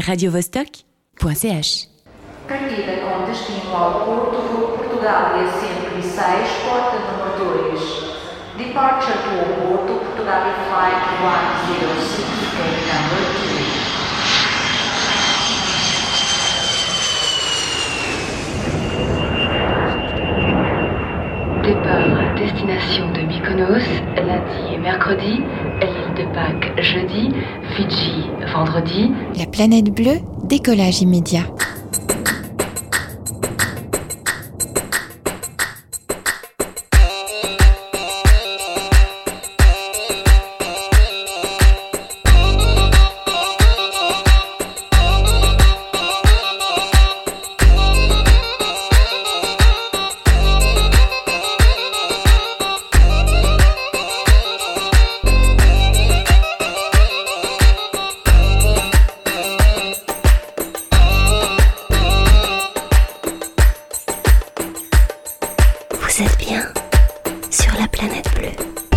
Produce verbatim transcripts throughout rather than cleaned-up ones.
radio vostok ponto c h. Partida com destino ao Porto, voo Portugal e Centro e seis, porta número dois. Departure to Porto, Portugal Flight one zero six, gate number two. Départ, destination de Mykonos, lundi et mercredi, l'île de Pâques jeudi, Fidji vendredi. La planète bleue, décollage immédiat. Vous êtes bien sur la planète bleue.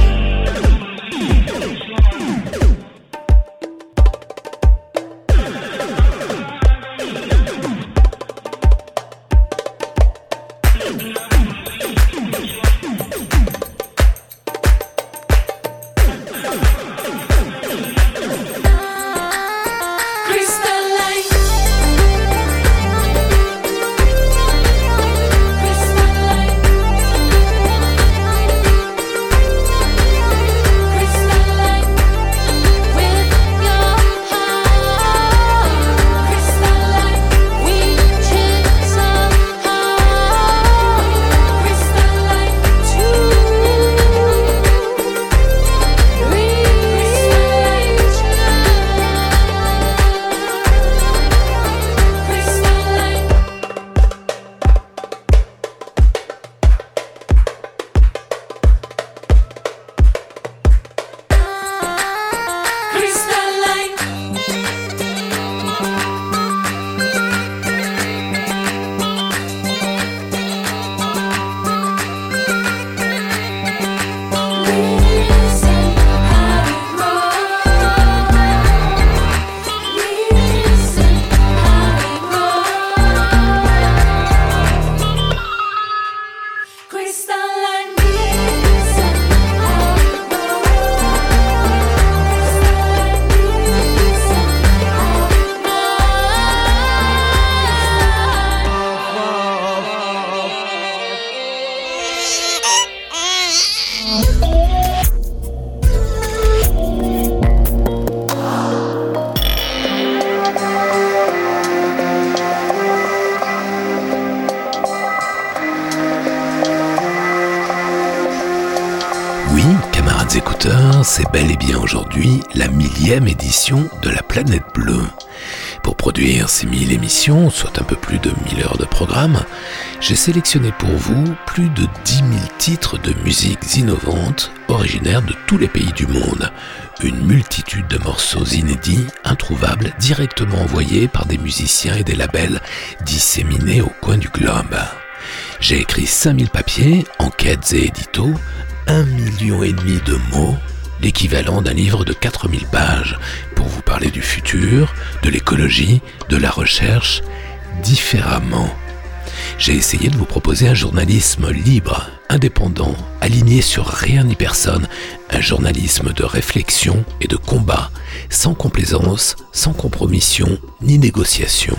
Écouteurs, c'est bel et bien aujourd'hui la millième édition de la Planète Bleue. Pour produire ces mille émissions, soit un peu plus de mille heures de programme, j'ai sélectionné pour vous plus de dix mille titres de musiques innovantes originaires de tous les pays du monde. Une multitude de morceaux inédits, introuvables, directement envoyés par des musiciens et des labels disséminés au coin du globe. J'ai écrit cinq mille papiers, enquêtes et éditos, un million et demi de mots, l'équivalent d'un livre de quatre mille pages, pour vous parler du futur, de l'écologie, de la recherche, différemment. J'ai essayé de vous proposer un journalisme libre, indépendant, aligné sur rien ni personne, un journalisme de réflexion et de combat, sans complaisance, sans compromission ni négociation.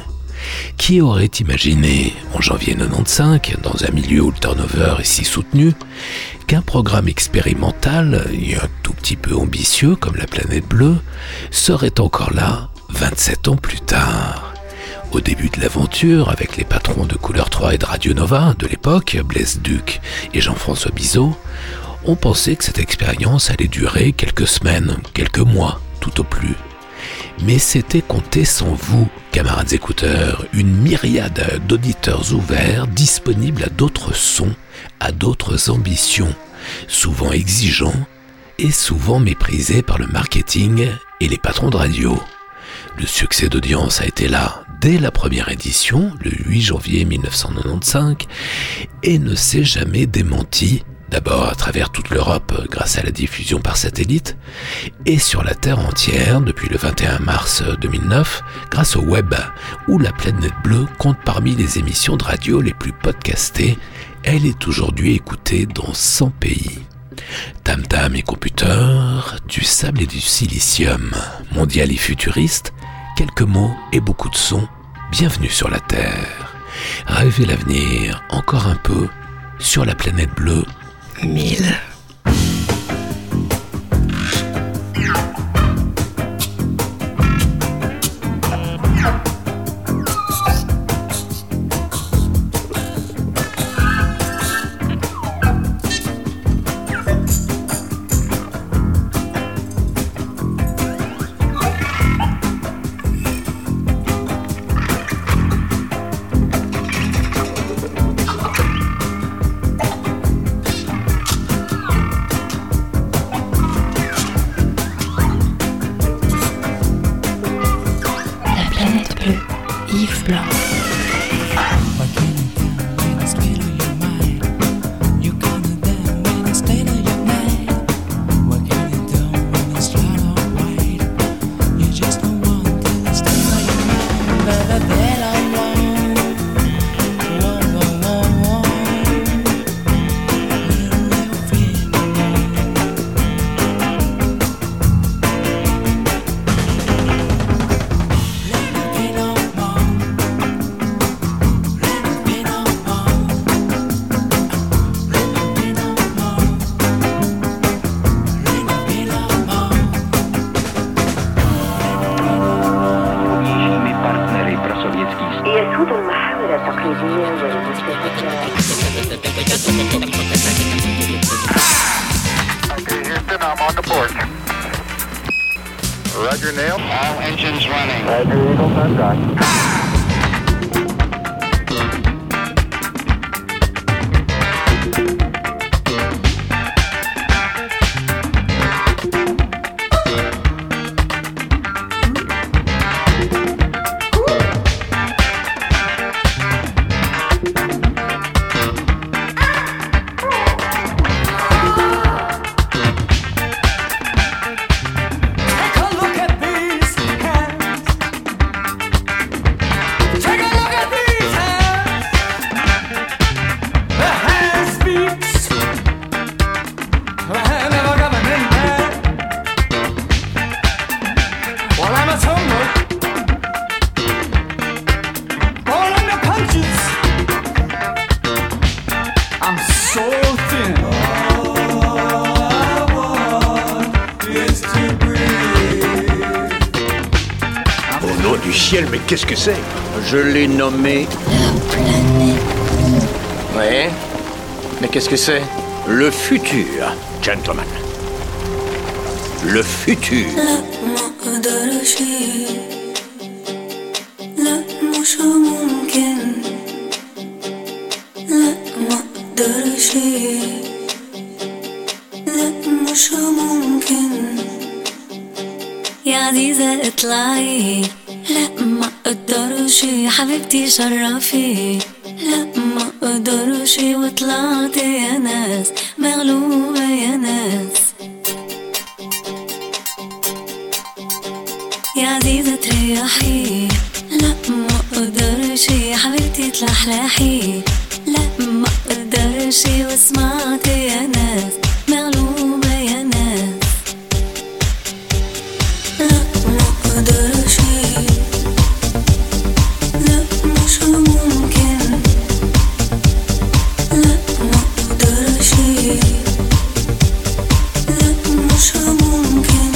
Qui aurait imaginé, en janvier quatre-vingt-quinze, dans un milieu où le turnover est si soutenu, qu'un programme expérimental, et un tout petit peu ambitieux comme la Planète Bleue, serait encore là vingt-sept ans plus tard. Au début de l'aventure, avec les patrons de Couleur trois et de Radio Nova de l'époque, Blaise Duc et Jean-François Bizot, on pensait que cette expérience allait durer quelques semaines, quelques mois, tout au plus. Mais c'était compté sans vous, camarades écouteurs, une myriade d'auditeurs ouverts, disponibles à d'autres sons, à d'autres ambitions, souvent exigeants et souvent méprisés par le marketing et les patrons de radio. Le succès d'audience a été là dès la première édition, le huit janvier mille neuf cent quatre-vingt-quinze, et ne s'est jamais démenti d'abord à travers toute l'Europe grâce à la diffusion par satellite, et sur la Terre entière depuis le vingt et un mars deux mille neuf grâce au web, où la Planète Bleue compte parmi les émissions de radio les plus podcastées. Elle est aujourd'hui écoutée dans cent pays. Tam Tam et Computer, du sable et du silicium, mondial et futuriste, quelques mots et beaucoup de sons, bienvenue sur la Terre. Rêvez l'avenir encore un peu sur la Planète Bleue mille. Yves Blanc. يسود المحاور التقليدية والمستهلكة. Okay, Houston, I'm on the board. Roger, Neil. All engines running. Roger, Eagle, sunrise. Du ciel, mais qu'est-ce que c'est? Je l'ai nommé... La planète. Ouais. Mais qu'est-ce que c'est? Le futur, gentlemen. Le futur. يا عزيزة اطلعي، لا ما اقدرش حبيبتي شرفي، لا ما اقدرش وطلعت يا ناس مغلوبة يا ناس. يا عزيزة تريحي، لا ما اقدرش حبيبتي تلحلحي، لا ما اقدرش وسمعت يا ناس مغلوبة يا ناس. لا ما اقدرش، لا مش ممكن، لا ما اقدرش، لا مش ممكن،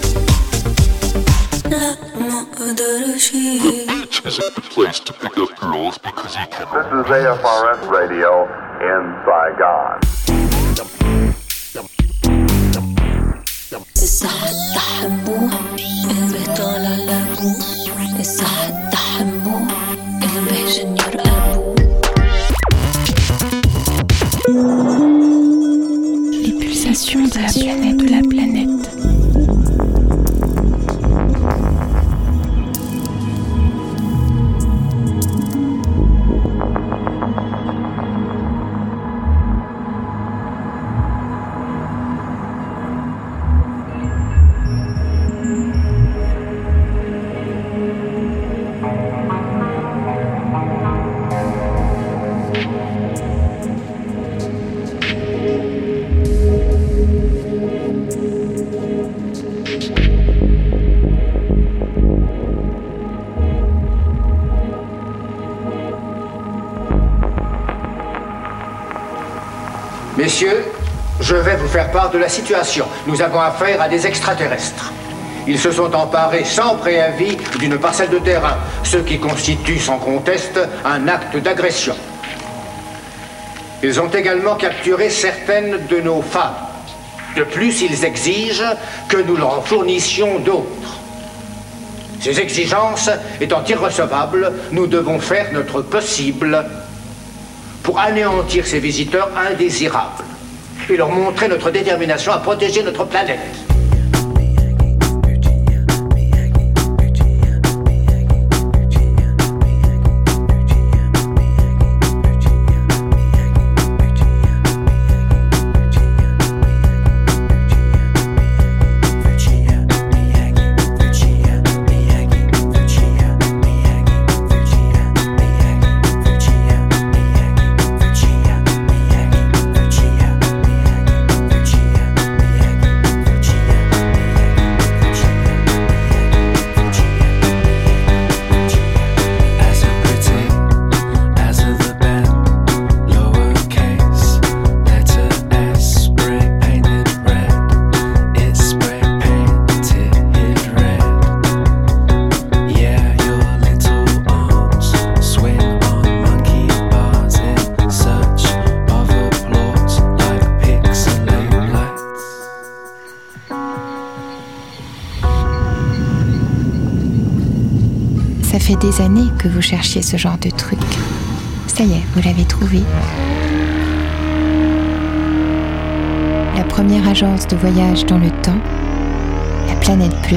لا ما اقدرش. This is a good place to pick up girls because you can. This is A F R S Radio in Saigon. الصحة تحبوه قلبي طالع لابوه، الصحة تحبوه قلبي جنيور أبوه. Les pulsations de la planète, de la planète. Messieurs, je vais vous faire part de la situation. Nous avons affaire à des extraterrestres. Ils se sont emparés sans préavis d'une parcelle de terrain, ce qui constitue sans conteste un acte d'agression. Ils ont également capturé certaines de nos femmes. De plus, ils exigent que nous leur en fournissions d'autres. Ces exigences étant irrecevables, nous devons faire notre possible pour anéantir ces visiteurs indésirables et leur montrer notre détermination à protéger notre planète. Ça fait des années que vous cherchiez ce genre de truc. Ça y est, vous l'avez trouvé. La première agence de voyage dans le temps, la planète bleue.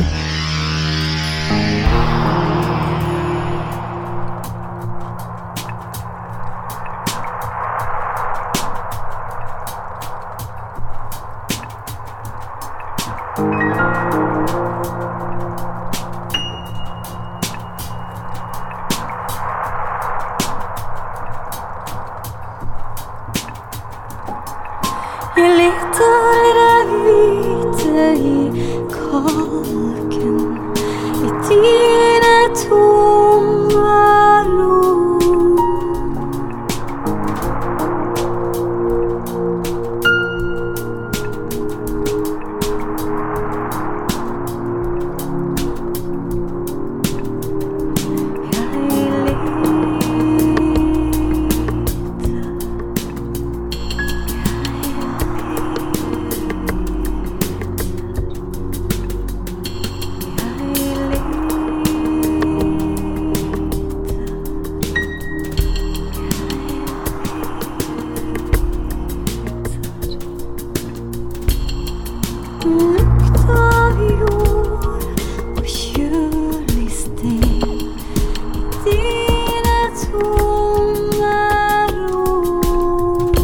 Jag letar där vita i kaken, i dina tomma rum. Lukt av jord och kylig sten i dina tomma rum.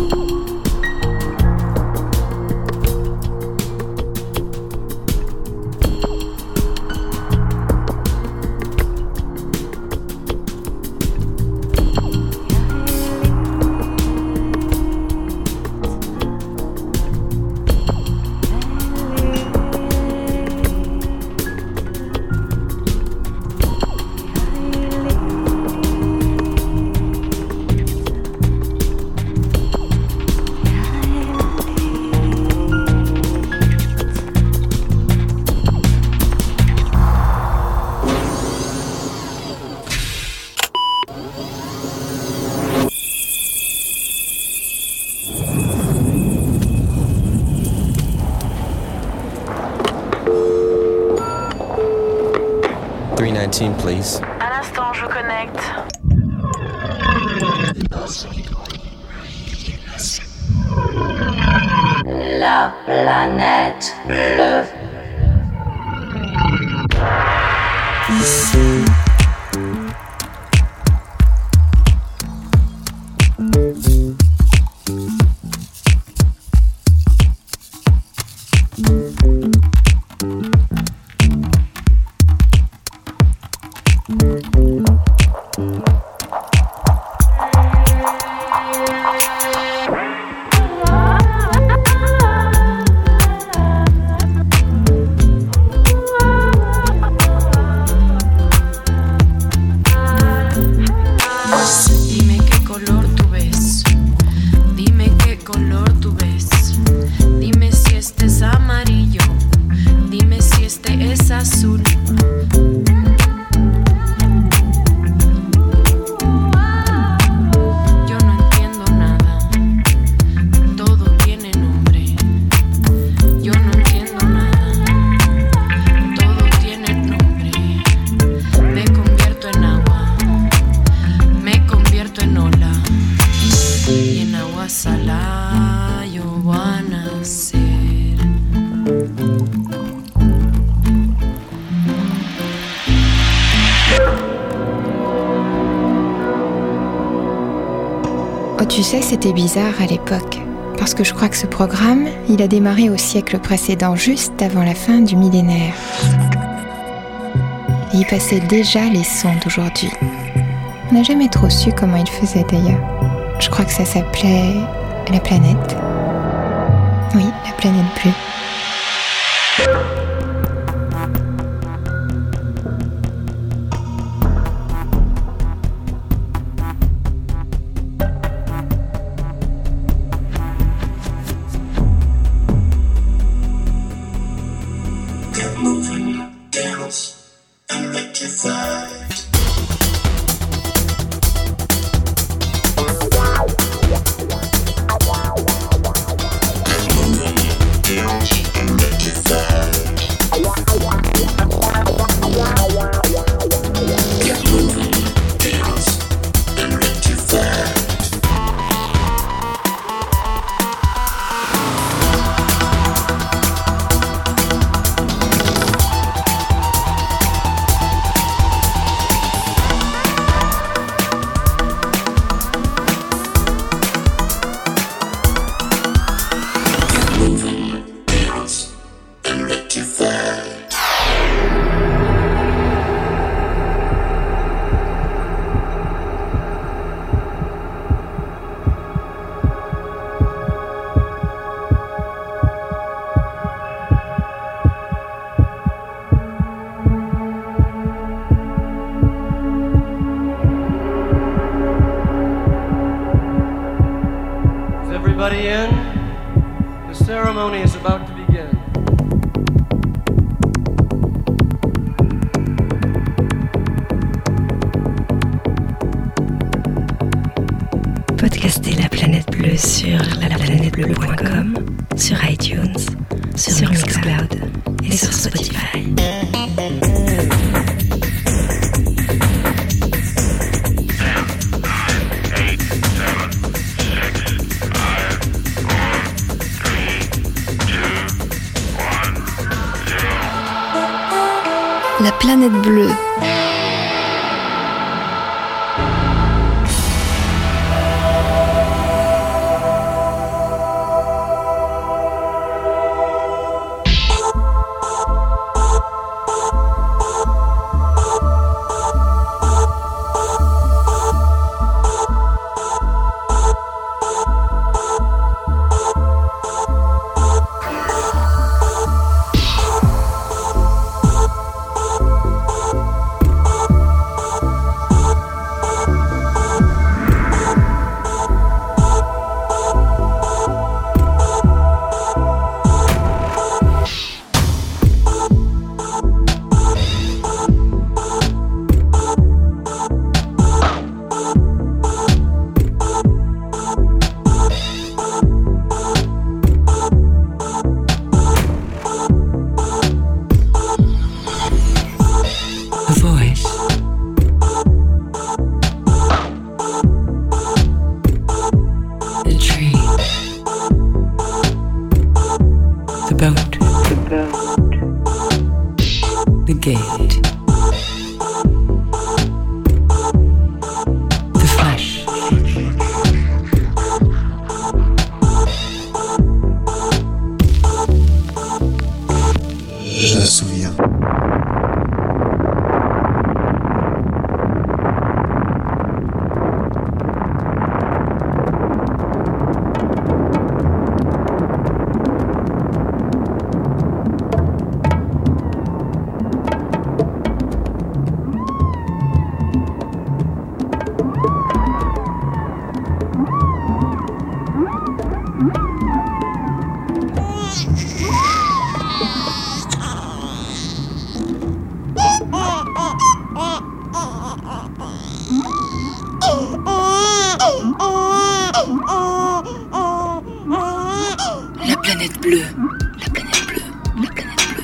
three nineteen, please. Un instant, je connecte. La planète bleue. Ici. Tu sais, c'était bizarre à l'époque, parce que je crois que ce programme, il a démarré au siècle précédent, juste avant la fin du millénaire. Et il passait déjà les sons d'aujourd'hui. On n'a jamais trop su comment il faisait d'ailleurs. Je crois que ça s'appelait la planète. Oui, la planète bleue. Everybody in? The ceremony is about to begin. Podcastez La Planète Bleue sur la planète bleue point com, sur iTunes, sur, sur Mixcloud et sur Spotify. La Planète Bleue. La planète bleue. La planète bleue. La planète bleue.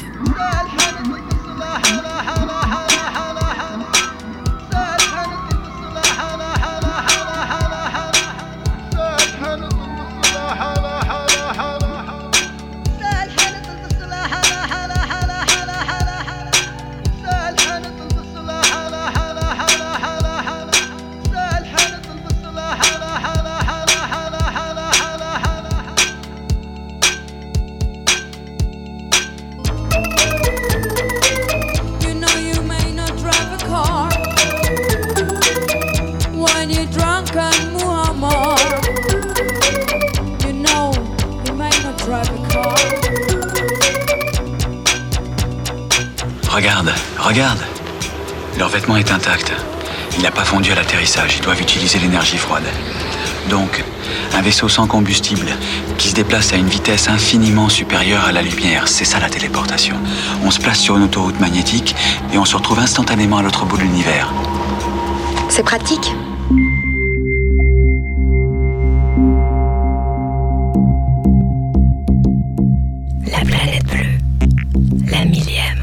African Muammar. You know, he might not drive a car. Regarde, regarde. Leur vêtement est intact. Il n'a pas fondu à l'atterrissage. Ils doivent utiliser l'énergie froide. Donc, un vaisseau sans combustible qui se déplace à une vitesse infiniment supérieure à la lumière. C'est ça la téléportation. On se place sur une autoroute magnétique et on se retrouve instantanément à l'autre bout de l'univers. C'est pratique. La planète bleue, la millième.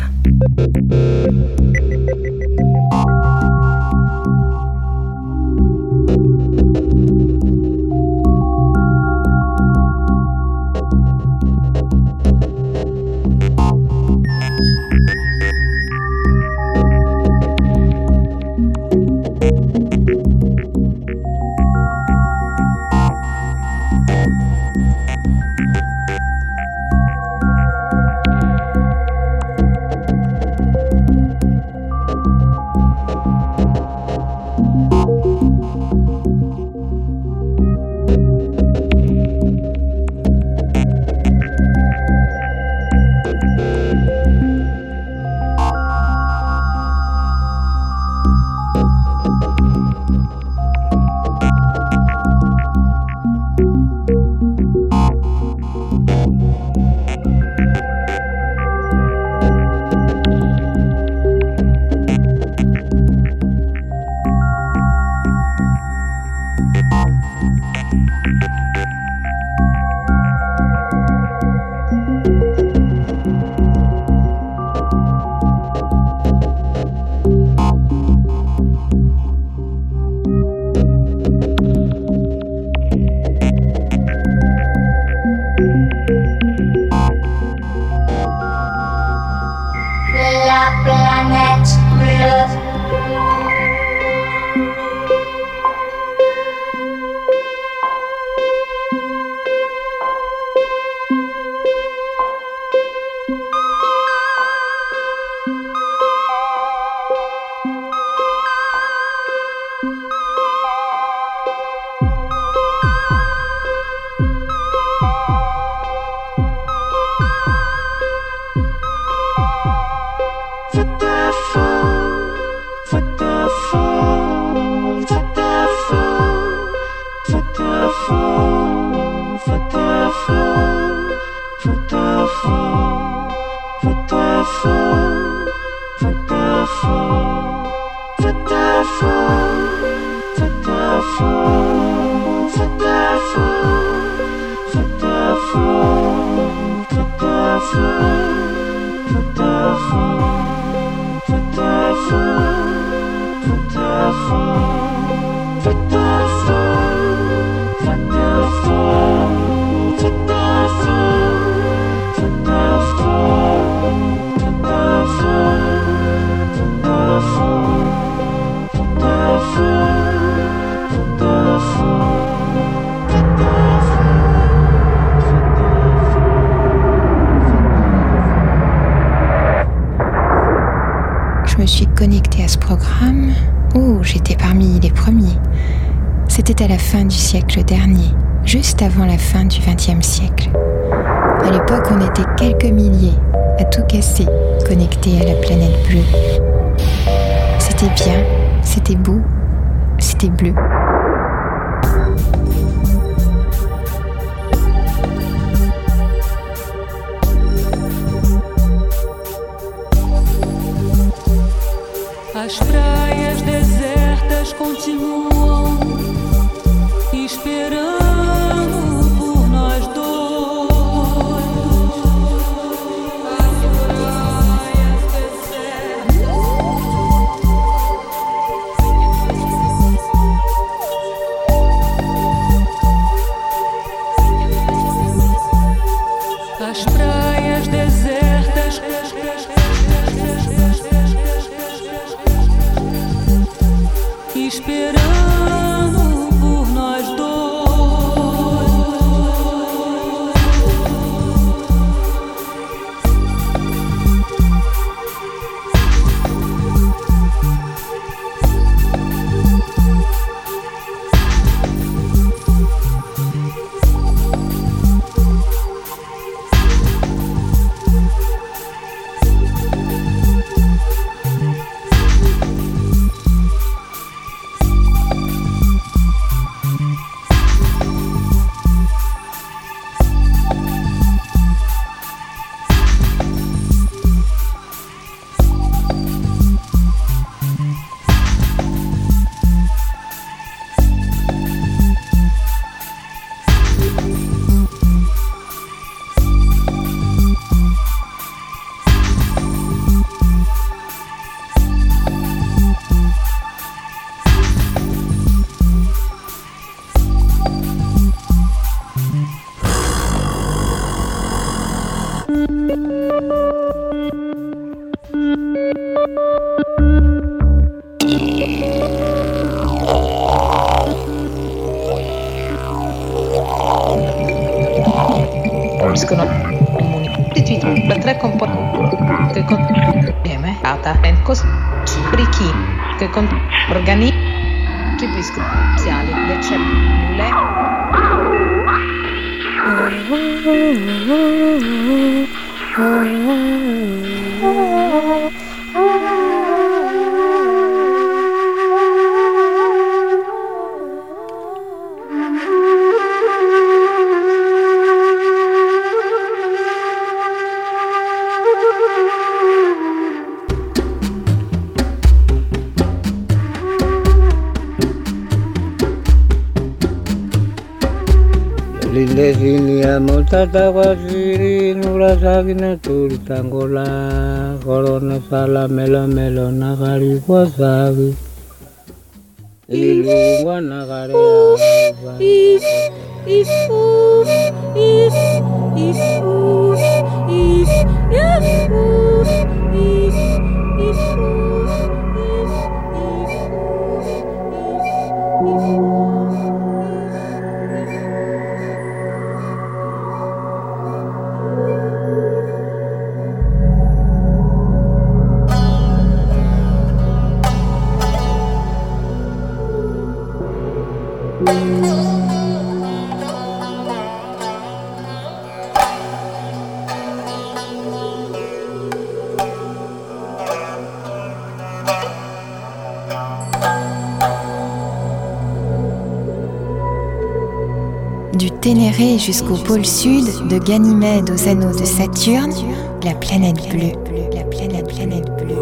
Je me suis connectée à ce programme. Oh, j'étais parmi les premiers. C'était à la fin du siècle dernier, juste avant la fin du vingtième siècle. À l'époque, on était quelques milliers à tout casser, connectés à la planète bleue. C'était bien, c'était beau, c'était bleu. As praias desertas continuam esperando por nós dois. As praias desertas. As praias desertas. Esperando por nós dois. Costituito da tre componenti che contiene data e così brichi che con organismi speciali le cellule. Lindesilia moltata wasiri nura sagina turi tangola corona sala mela melo nagari wasabi ilu wanagare if if if if if if if Du Ténéré jusqu'au pôle sud, de Ganymède aux anneaux de Saturne, la planète bleue, la planète, planète bleue.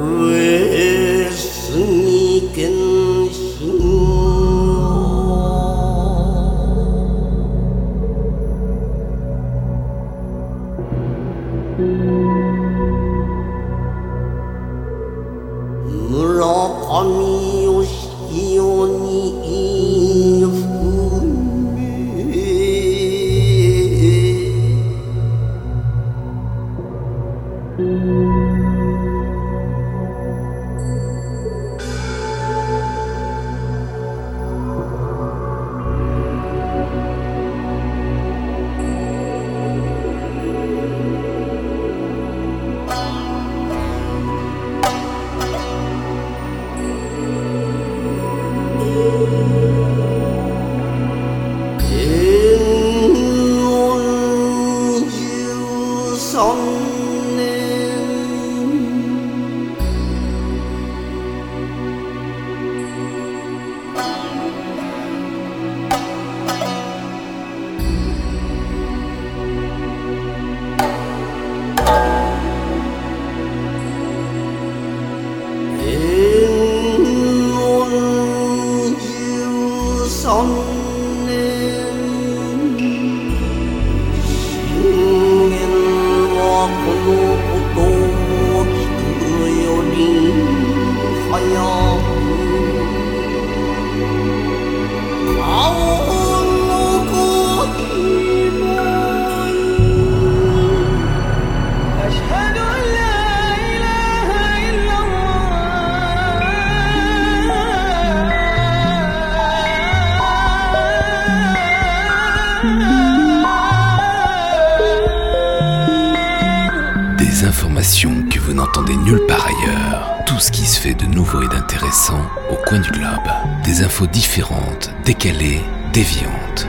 Informations que vous n'entendez nulle part ailleurs. Tout ce qui se fait de nouveau et d'intéressant au coin du globe. Des infos différentes, décalées, déviantes.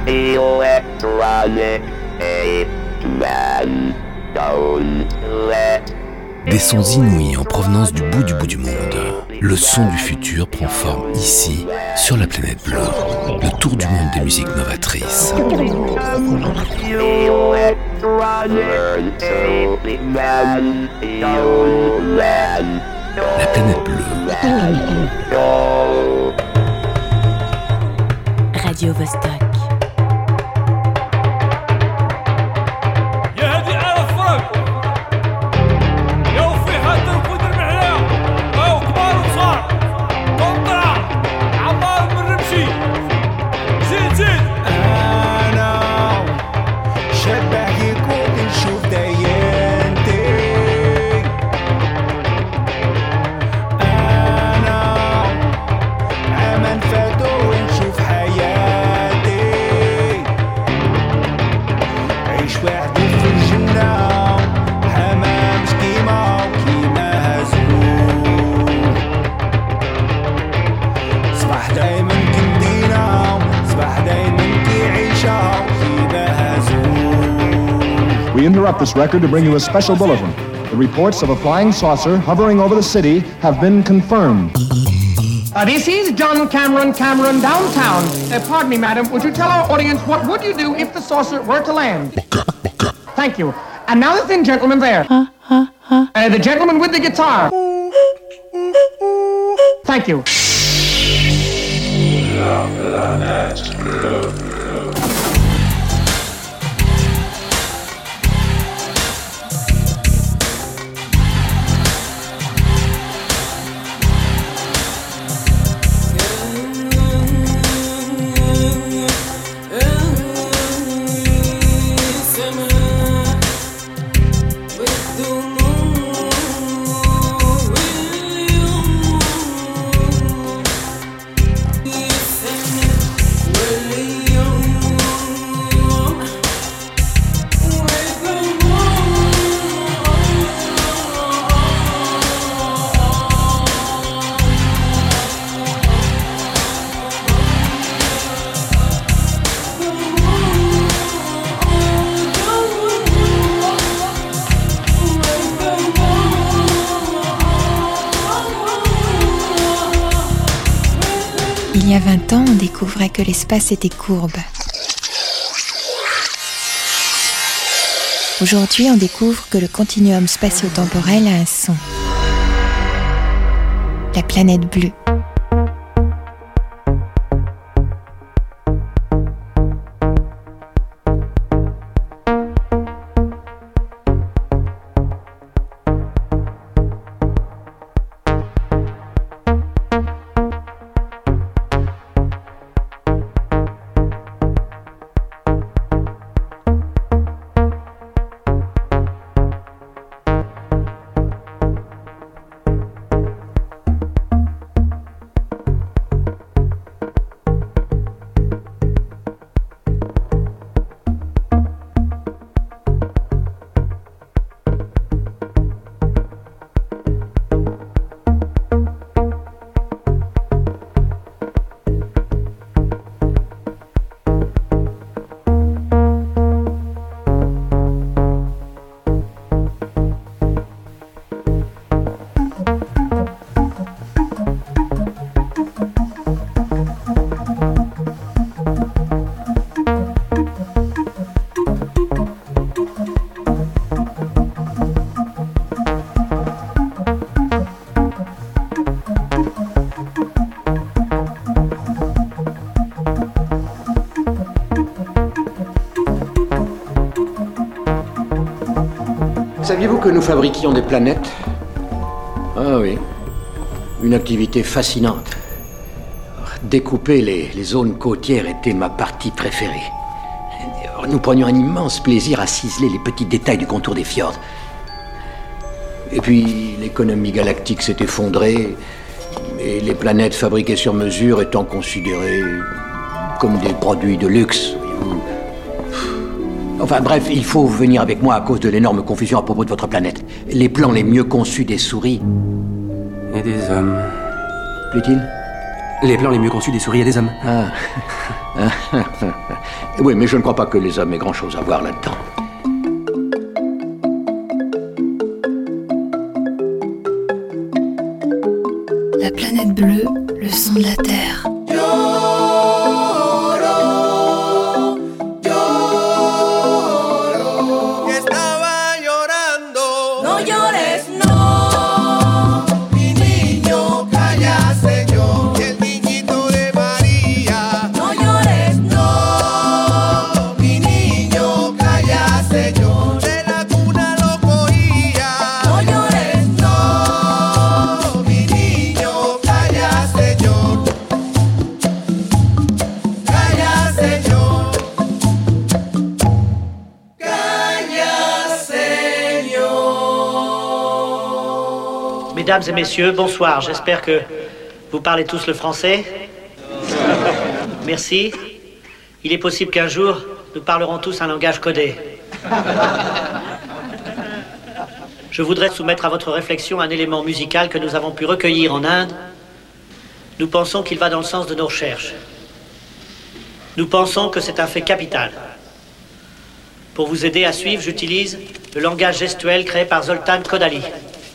Des sons inouïs en provenance du bout du bout du monde. Le son du futur prend forme ici, sur la planète bleue. Le tour du monde des musiques novatrices. La planète bleue. Radio Vostok. We interrupt this record to bring you a special bulletin. The reports of a flying saucer hovering over the city have been confirmed. Uh, this is John Cameron, Cameron downtown. Uh, pardon me, madam. Would you tell our audience what would you do if the saucer were to land? Thank you. And now the thin gentleman there. Huh, huh, huh. Uh, the gentleman with the guitar. Thank you. Il y a vingt ans, on découvrait que l'espace était courbe. Aujourd'hui, on découvre que le continuum spatio-temporel a un son. La planète bleue. Saviez-vous que nous fabriquions des planètes? Ah oui, une activité fascinante. Découper les, les zones côtières était ma partie préférée. Nous prenions un immense plaisir à ciseler les petits détails du contour des fjords. Et puis, l'économie galactique s'est effondrée, et les planètes fabriquées sur mesure étant considérées comme des produits de luxe. Enfin bref, il faut venir avec moi à cause de l'énorme confusion à propos de votre planète. Les plans les mieux conçus des souris... Et des hommes. Plaît-il? Les plans les mieux conçus des souris et des hommes. Ah. Oui, mais je ne crois pas que les hommes aient grand-chose à voir là-dedans. La planète bleue, le son de la Terre. Mesdames et messieurs, bonsoir. J'espère que vous parlez tous le français. Merci. Il est possible qu'un jour, nous parlerons tous un langage codé. Je voudrais soumettre à votre réflexion un élément musical que nous avons pu recueillir en Inde. Nous pensons qu'il va dans le sens de nos recherches. Nous pensons que c'est un fait capital. Pour vous aider à suivre, j'utilise le langage gestuel créé par Zoltan Kodaly.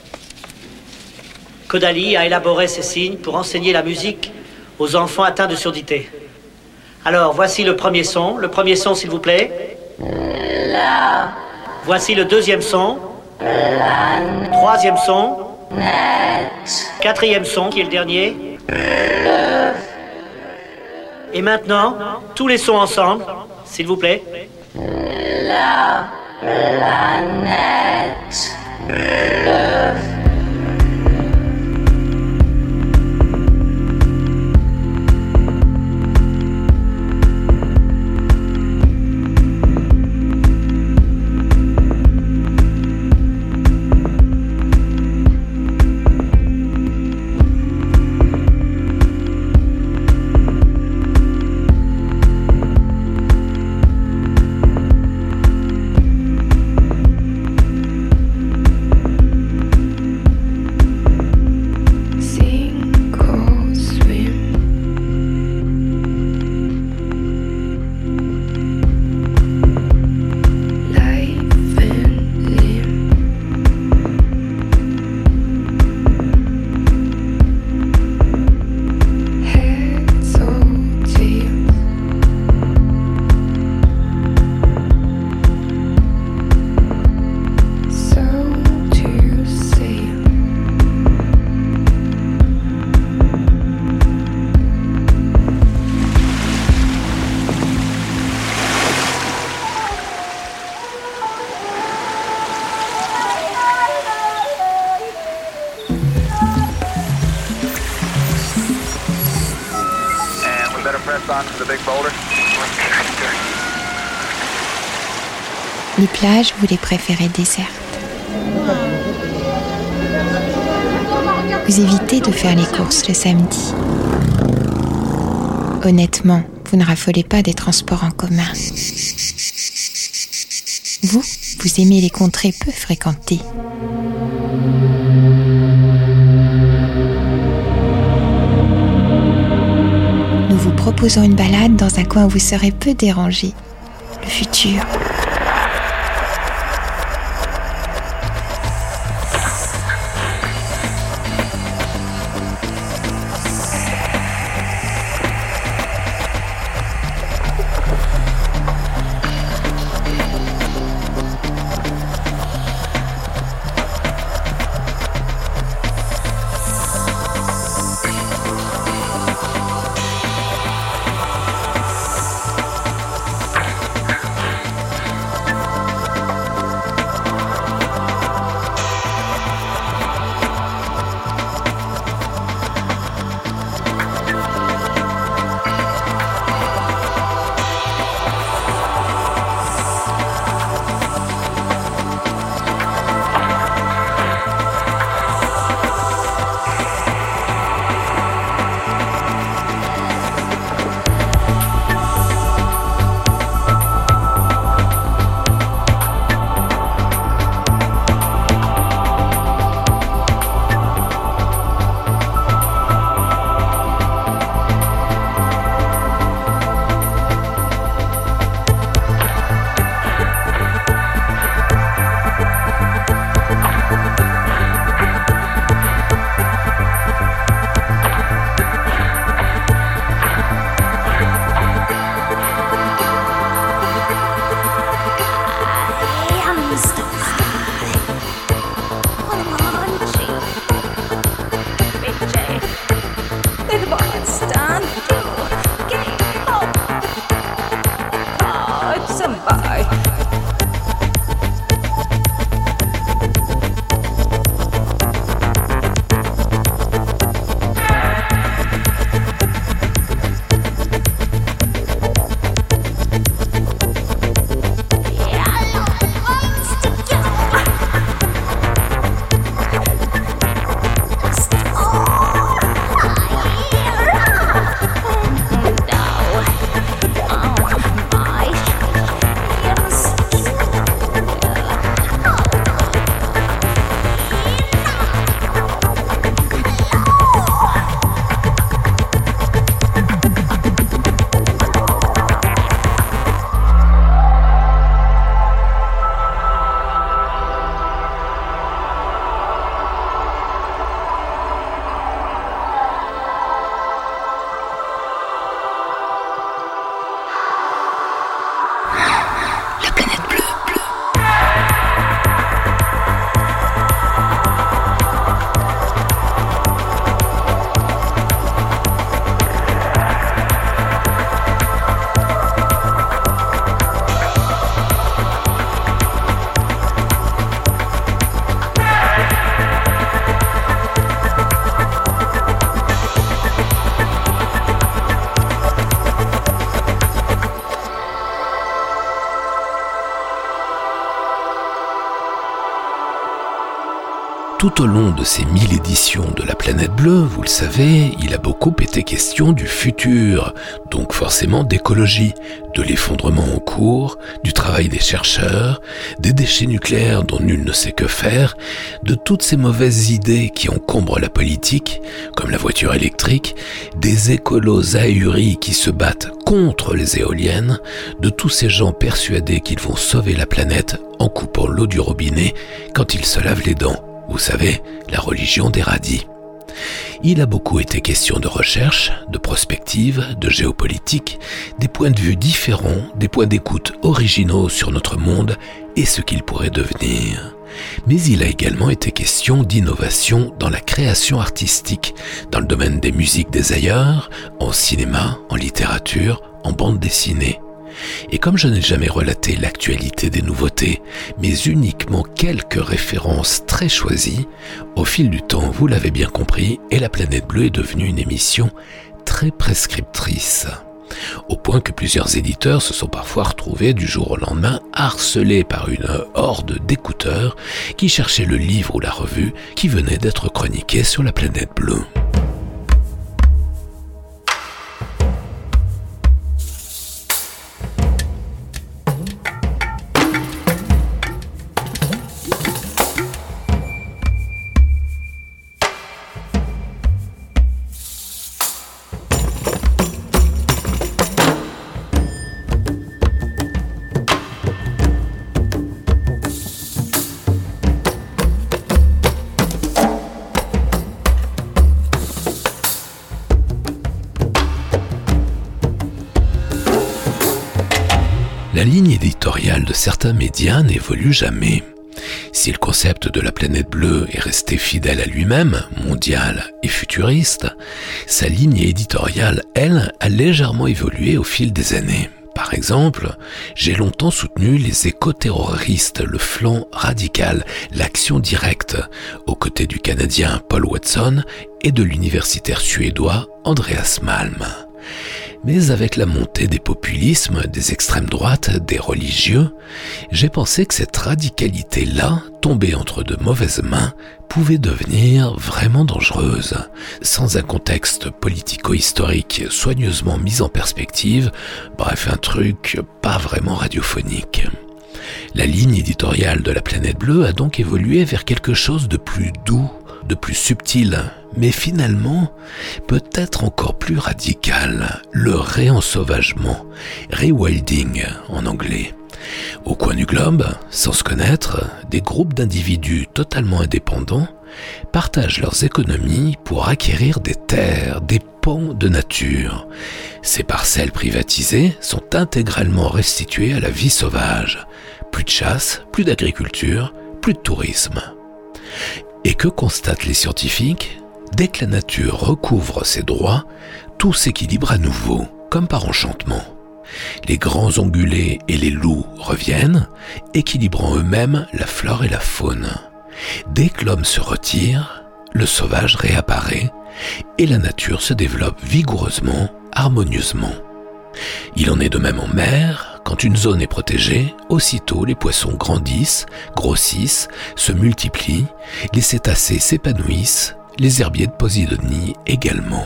Kodaly a élaboré ces signes pour enseigner la musique aux enfants atteints de surdité. Alors, voici le premier son. Le premier son, s'il vous plaît. La. Voici le deuxième son. La. Troisième son. Net. Quatrième son, qui est le dernier. Le. Et maintenant, tous les sons ensemble, s'il vous plaît. La. La. Net. Le. Les plages, vous les préférez désertes. Vous évitez de faire les courses le samedi. Honnêtement, vous ne raffolez pas des transports en commun. Vous, vous aimez les contrées peu fréquentées. Nous vous proposons une balade dans un coin où vous serez peu dérangé. Le futur. Tout au long de ces mille éditions de la Planète Bleue, vous le savez, il a beaucoup été question du futur, donc forcément d'écologie, de l'effondrement en cours, du travail des chercheurs, des déchets nucléaires dont nul ne sait que faire, de toutes ces mauvaises idées qui encombrent la politique, comme la voiture électrique, des écolos ahuris qui se battent contre les éoliennes, de tous ces gens persuadés qu'ils vont sauver la planète en coupant l'eau du robinet quand ils se lavent les dents. Vous savez, la religion des radis. Il a beaucoup été question de recherche, de prospective, de géopolitique, des points de vue différents, des points d'écoute originaux sur notre monde et ce qu'il pourrait devenir. Mais il a également été question d'innovation dans la création artistique, dans le domaine des musiques des ailleurs, en cinéma, en littérature, en bande dessinée. Et comme je n'ai jamais relaté l'actualité des nouveautés, mais uniquement quelques références très choisies, au fil du temps, vous l'avez bien compris, et la Planète Bleue est devenue une émission très prescriptrice. Au point que plusieurs éditeurs se sont parfois retrouvés du jour au lendemain harcelés par une horde d'écouteurs qui cherchaient le livre ou la revue qui venait d'être chroniqué sur la Planète Bleue. La ligne éditoriale de certains médias n'évolue jamais. Si le concept de la Planète Bleue est resté fidèle à lui-même, mondial et futuriste, sa ligne éditoriale, elle, a légèrement évolué au fil des années. Par exemple, j'ai longtemps soutenu les éco-terroristes, le flanc radical, l'action directe, aux côtés du Canadien Paul Watson et de l'universitaire suédois Andreas Malm. Mais avec la montée des populismes, des extrêmes droites, des religieux, j'ai pensé que cette radicalité-là, tombée entre de mauvaises mains, pouvait devenir vraiment dangereuse. Sans un contexte politico-historique soigneusement mis en perspective, bref, un truc pas vraiment radiophonique. La ligne éditoriale de la Planète Bleue a donc évolué vers quelque chose de plus doux, de plus subtil, mais finalement peut-être encore plus radical, le réensauvagement, rewilding en anglais. Au coin du globe, sans se connaître, des groupes d'individus totalement indépendants partagent leurs économies pour acquérir des terres, des pans de nature. Ces parcelles privatisées sont intégralement restituées à la vie sauvage. Plus de chasse, plus d'agriculture, plus de tourisme. Et que constatent les scientifiques ? Dès que la nature recouvre ses droits, tout s'équilibre à nouveau, comme par enchantement. Les grands ongulés et les loups reviennent, équilibrant eux-mêmes la flore et la faune. Dès que l'homme se retire, le sauvage réapparaît et la nature se développe vigoureusement, harmonieusement. Il en est de même en mer. Quand une zone est protégée, aussitôt les poissons grandissent, grossissent, se multiplient, les cétacés s'épanouissent, les herbiers de Posidonie également.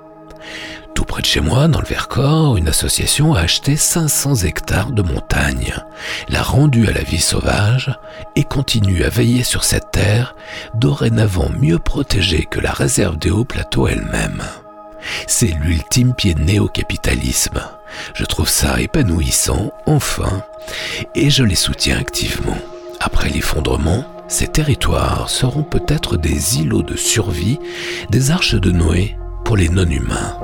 Tout près de chez moi, dans le Vercors, une association a acheté cinq cents hectares de montagne, l'a rendue à la vie sauvage et continue à veiller sur cette terre, dorénavant mieux protégée que la réserve des hauts plateaux elle-même. C'est l'ultime pied de nez au capitalisme. Je trouve ça épanouissant, enfin, et je les soutiens activement. Après l'effondrement, ces territoires seront peut-être des îlots de survie, des arches de Noé pour les non-humains.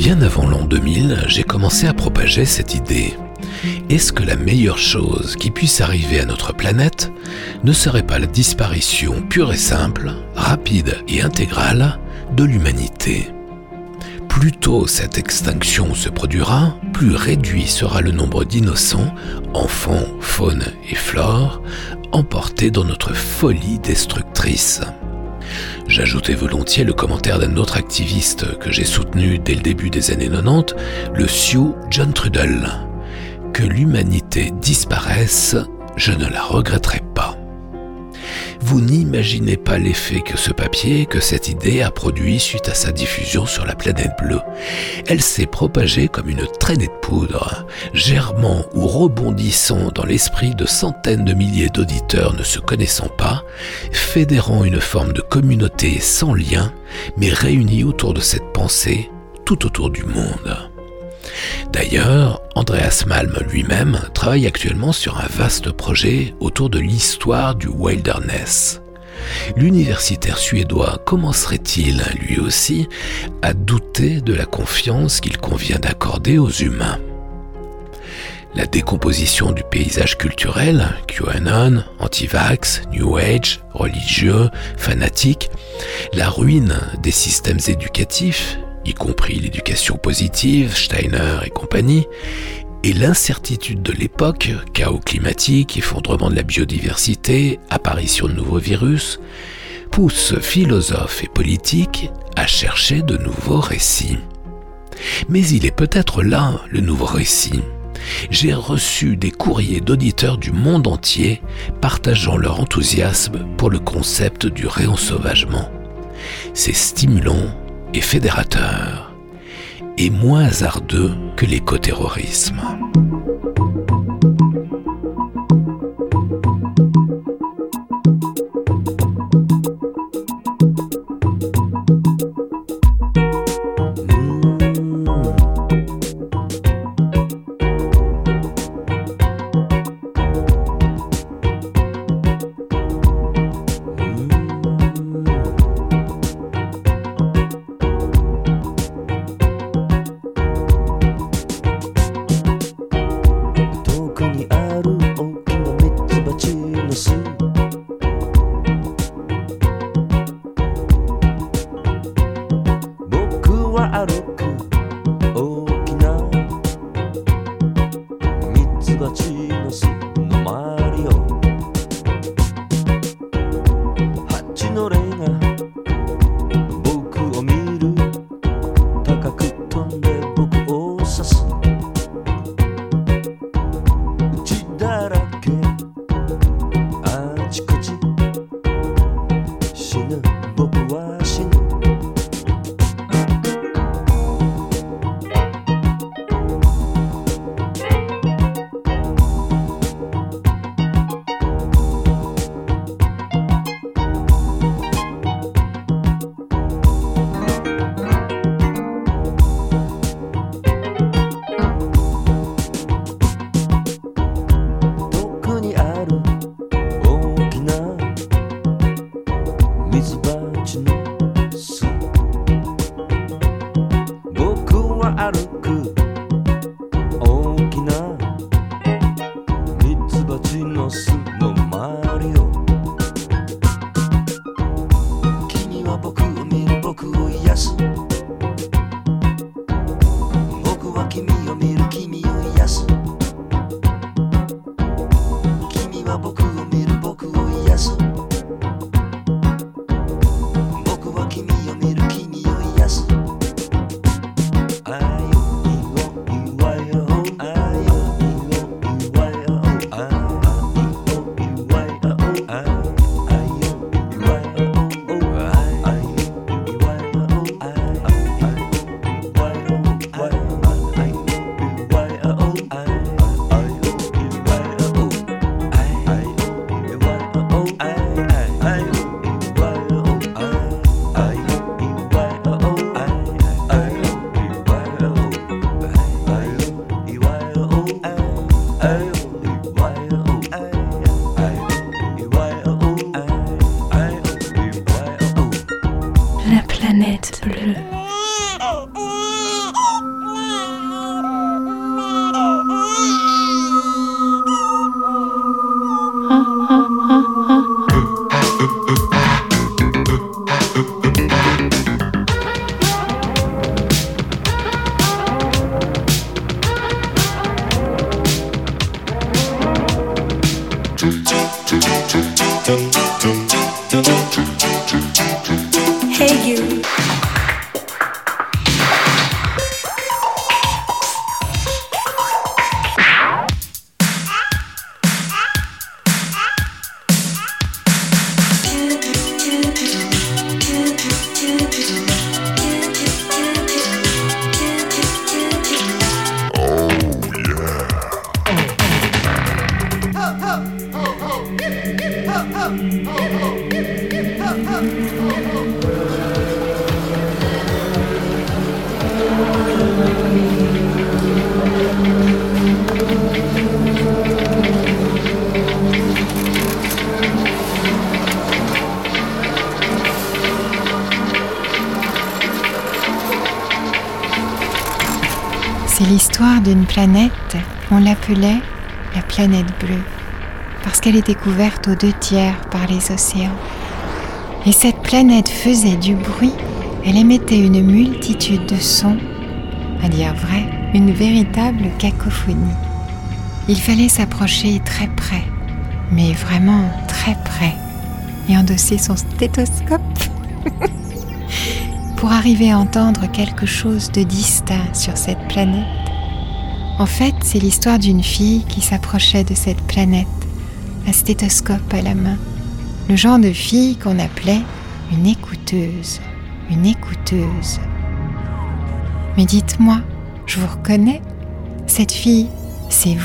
Bien avant l'an deux mille, j'ai commencé à propager cette idée. Est-ce que la meilleure chose qui puisse arriver à notre planète ne serait pas la disparition pure et simple, rapide et intégrale de l'humanité ? Plus tôt cette extinction se produira, plus réduit sera le nombre d'innocents, enfants, faune et flore, emportés dans notre folie destructrice. J'ajoutais volontiers le commentaire d'un autre activiste que j'ai soutenu dès le début des années quatre-vingt-dix, le Sioux John Trudell. Que l'humanité disparaisse, je ne la regretterai pas. Vous n'imaginez pas l'effet que ce papier, que cette idée a produit suite à sa diffusion sur la planète bleue. Elle s'est propagée comme une traînée de poudre, germant ou rebondissant dans l'esprit de centaines de milliers d'auditeurs ne se connaissant pas, fédérant une forme de communauté sans lien, mais réunie autour de cette pensée tout autour du monde. D'ailleurs, Andreas Malm lui-même travaille actuellement sur un vaste projet autour de l'histoire du wilderness. L'universitaire suédois commencerait-il, lui aussi, à douter de la confiance qu'il convient d'accorder aux humains ? La décomposition du paysage culturel, QAnon, anti-vax, New Age, religieux, fanatique, la ruine des systèmes éducatifs, y compris l'éducation positive, Steiner et compagnie, et l'incertitude de l'époque, chaos climatique, effondrement de la biodiversité, apparition de nouveaux virus, poussent philosophes et politiques à chercher de nouveaux récits. Mais il est peut-être là le nouveau récit. J'ai reçu des courriers d'auditeurs du monde entier partageant leur enthousiasme pour le concept du réensauvagement. C'est stimulant et fédérateur, et moins hasardeux que l'écoterrorisme. La planète bleue. Hey you. C'est l'histoire d'une planète, on l'appelait la planète bleue, parce qu'elle était couverte aux deux tiers par les océans. Et cette planète faisait du bruit, elle émettait une multitude de sons, à dire vrai, une véritable cacophonie. Il fallait s'approcher très près, mais vraiment très près, et endosser son stéthoscope pour arriver à entendre quelque chose de distinct sur cette planète. En fait, c'est l'histoire d'une fille qui s'approchait de cette planète, un stéthoscope à la main, le genre de fille qu'on appelait une écouteuse, une écouteuse. Mais dites-moi, je vous reconnais, cette fille, c'est vous ?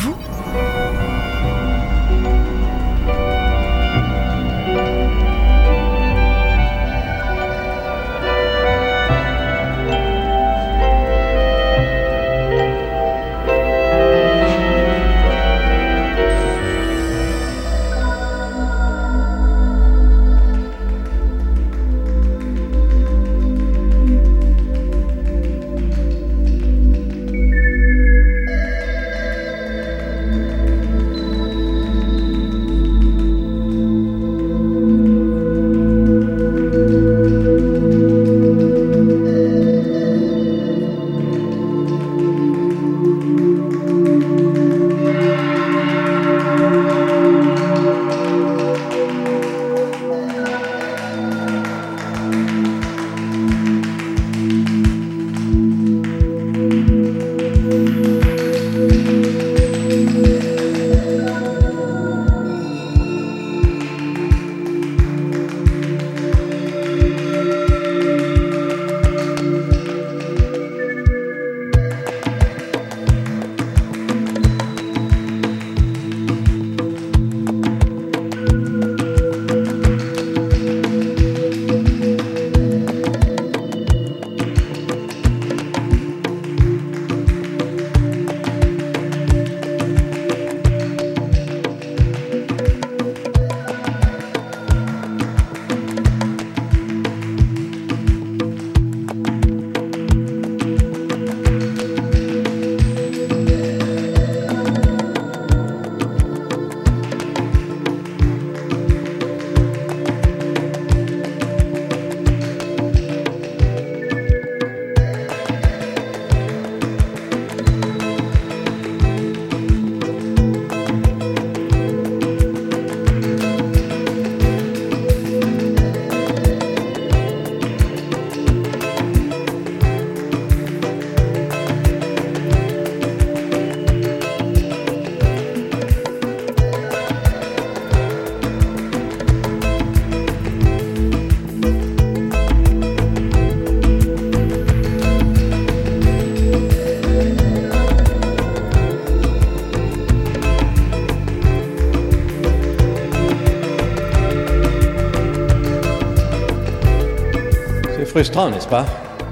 Frustrant, n'est-ce pas ?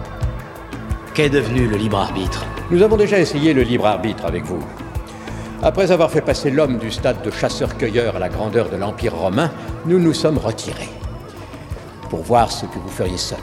Qu'est devenu le libre arbitre ? Nous avons déjà essayé le libre arbitre avec vous. Après avoir fait passer l'homme du stade de chasseur-cueilleur à la grandeur de l'Empire romain, nous nous sommes retirés pour voir ce que vous feriez seul.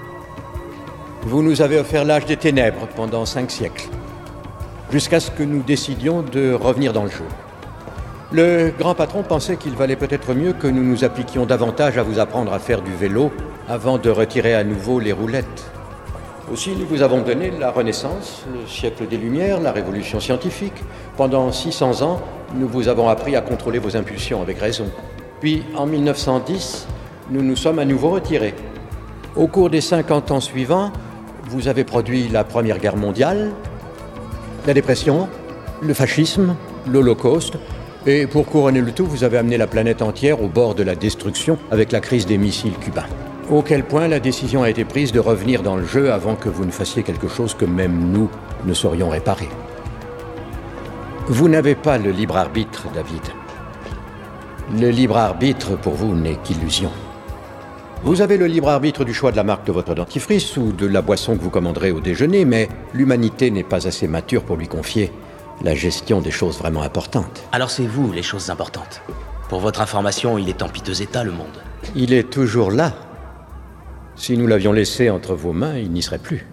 Vous nous avez offert l'âge des ténèbres pendant cinq siècles, jusqu'à ce que nous décidions de revenir dans le jeu. Le grand patron pensait qu'il valait peut-être mieux que nous nous appliquions davantage à vous apprendre à faire du vélo avant de retirer à nouveau les roulettes. Aussi, nous vous avons donné la Renaissance, le siècle des Lumières, la Révolution scientifique. Pendant six cents ans, nous vous avons appris à contrôler vos impulsions avec raison. Puis, en mille neuf cent dix, nous nous sommes à nouveau retirés. Au cours des cinquante ans suivants, vous avez produit la Première Guerre mondiale, la dépression, le fascisme, l'Holocauste, et pour couronner le tout, vous avez amené la planète entière au bord de la destruction avec la crise des missiles cubains. Auquel point la décision a été prise de revenir dans le jeu avant que vous ne fassiez quelque chose que même nous ne saurions réparer. Vous n'avez pas le libre arbitre, David. Le libre arbitre, pour vous, n'est qu'illusion. Vous avez le libre arbitre du choix de la marque de votre dentifrice ou de la boisson que vous commanderez au déjeuner, mais l'humanité n'est pas assez mature pour lui confier la gestion des choses vraiment importantes. Alors c'est vous, les choses importantes. Pour votre information, il est en piteux état, le monde. Il est toujours là. Si nous l'avions laissé entre vos mains, il n'y serait plus.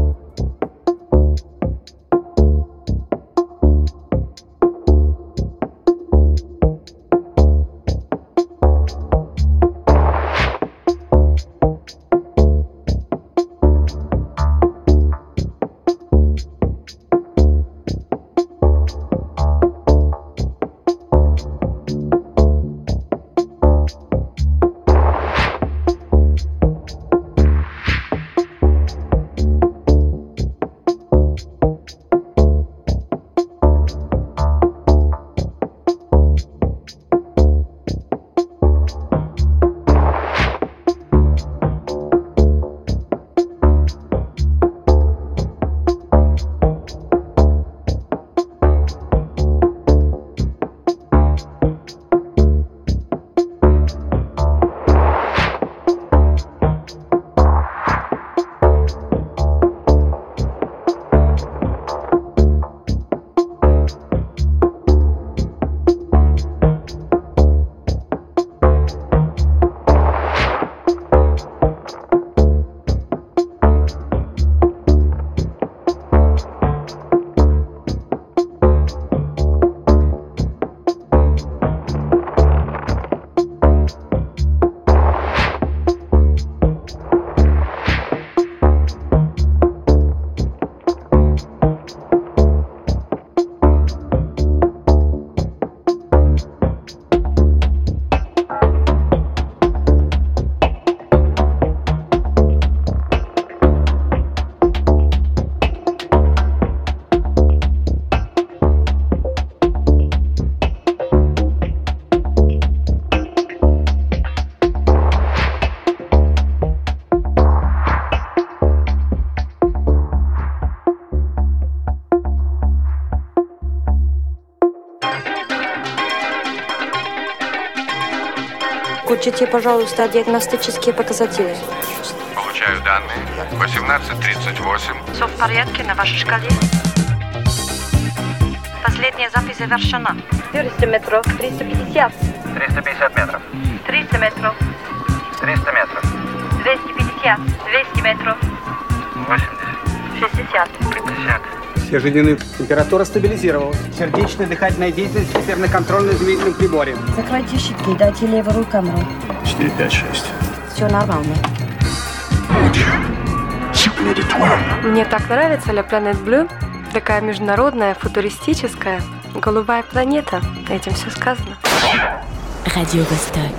Включите, пожалуйста, диагностические показатели. Получаю данные. восемнадцать тридцать восемь. Все в порядке на вашей шкале? Последняя запись завершена. четыреста метров, триста пятьдесят. триста пятьдесят метров. триста метров. триста метров. двести пятьдесят. двести метров. восемьдесят. шестьдесят. пятьдесят. Все жизненные. Температура стабилизировалась. Сердечная, дыхательная деятельность теперь на контрольно-измерительном приборе. Закройте щитки, дайте левую камеру. четыре, пять, шесть. Все нормально. Мне так нравится La Planète Bleue. Такая международная, футуристическая, голубая планета. Этим все сказано. Radio Vostok.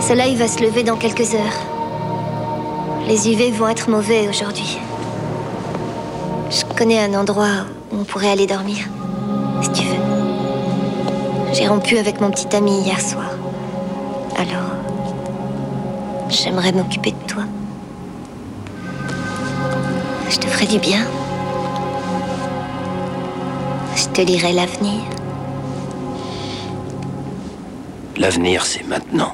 soleil va se lever dans quelques heures. Les U V vont être mauvais aujourd'hui. Je connais un endroit où on pourrait aller dormir, si tu veux. J'ai rompu avec mon petit ami hier soir. Alors, j'aimerais m'occuper de toi. Je te ferai du bien. Je te lirai l'avenir. L'avenir, c'est maintenant.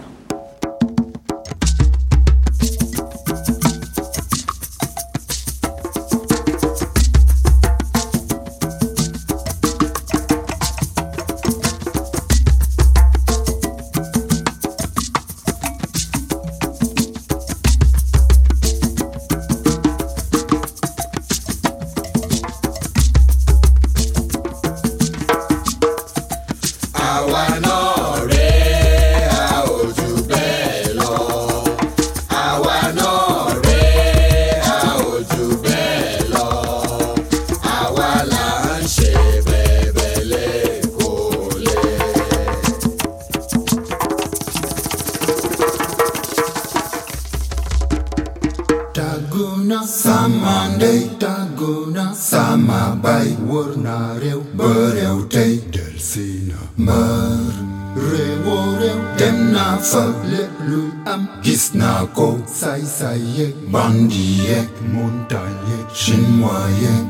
Say say yek, bandi yek, montagne yek, chinois yek.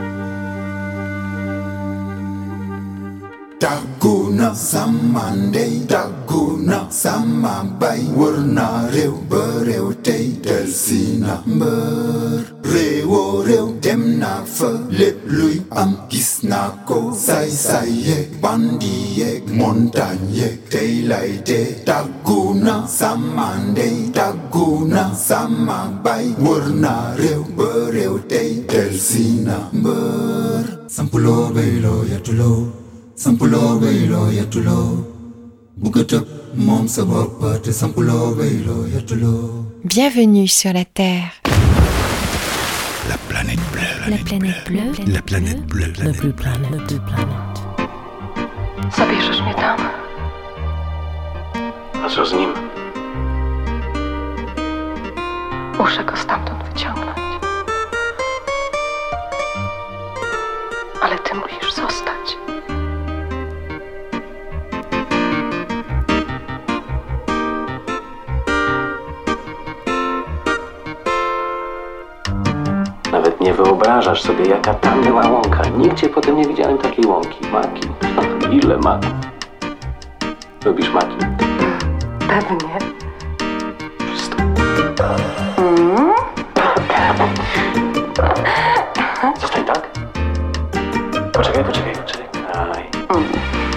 Daguna samande, daguna samabay, warna rew, berew tey, delsina mbeur. Rewo rew, dem na fa, lep luy am, gis na ko. Say say yek, bandi yek, montagne yek, tey lay de. Daguna samande, daguna samabay, warna rew, berew tey, delsina mbeur. Sampulo belo yatulo. Sampulo baylo yatulo Bukatap mom sa boppa te sampulo baylo yatulo. Bienvenue sur la Terre. La planète bleue. La planète bleue. La planète bleue. La plus planète de planète. Zabierzesz mnie tam? A co z nim? Muszę go stamtąd wyciągnąć. Ale ty musisz zostać. Nawet nie wyobrażasz sobie, jaka tam była łąka. Nigdzie potem nie widziałem takiej łąki. Maki. Ile maków? Lubisz maki? Pewnie. Mm. Zostań tak? Poczekaj, poczekaj, poczekaj. Aj. Mm.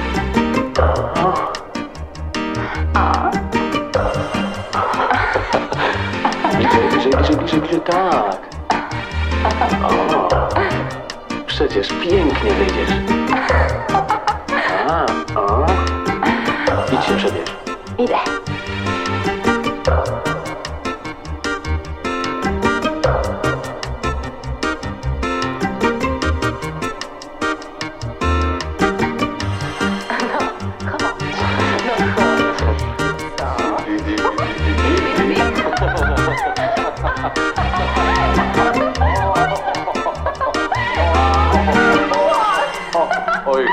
Bliżej, bliżej, bliżej, bliżej, bliżej, tak. O, przecież pięknie wyjdziesz. A, o. Idź się przebierz. Idę. Oj.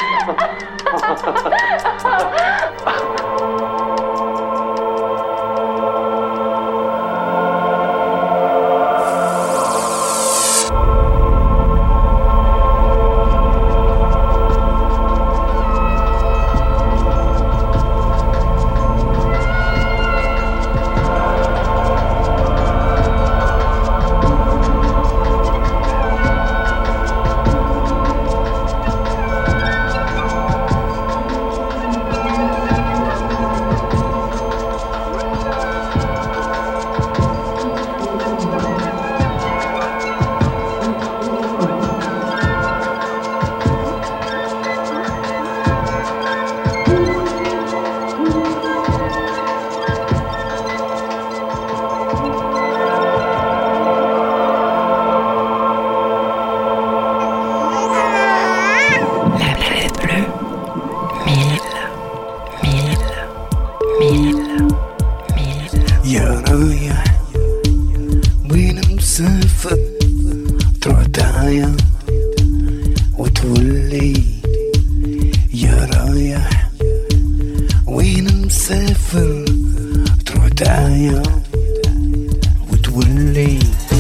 mille, mille, mille, يا رايح وين مسافر ترعتايا وتولي يا رايح وين مسافر ترعتايا وتولي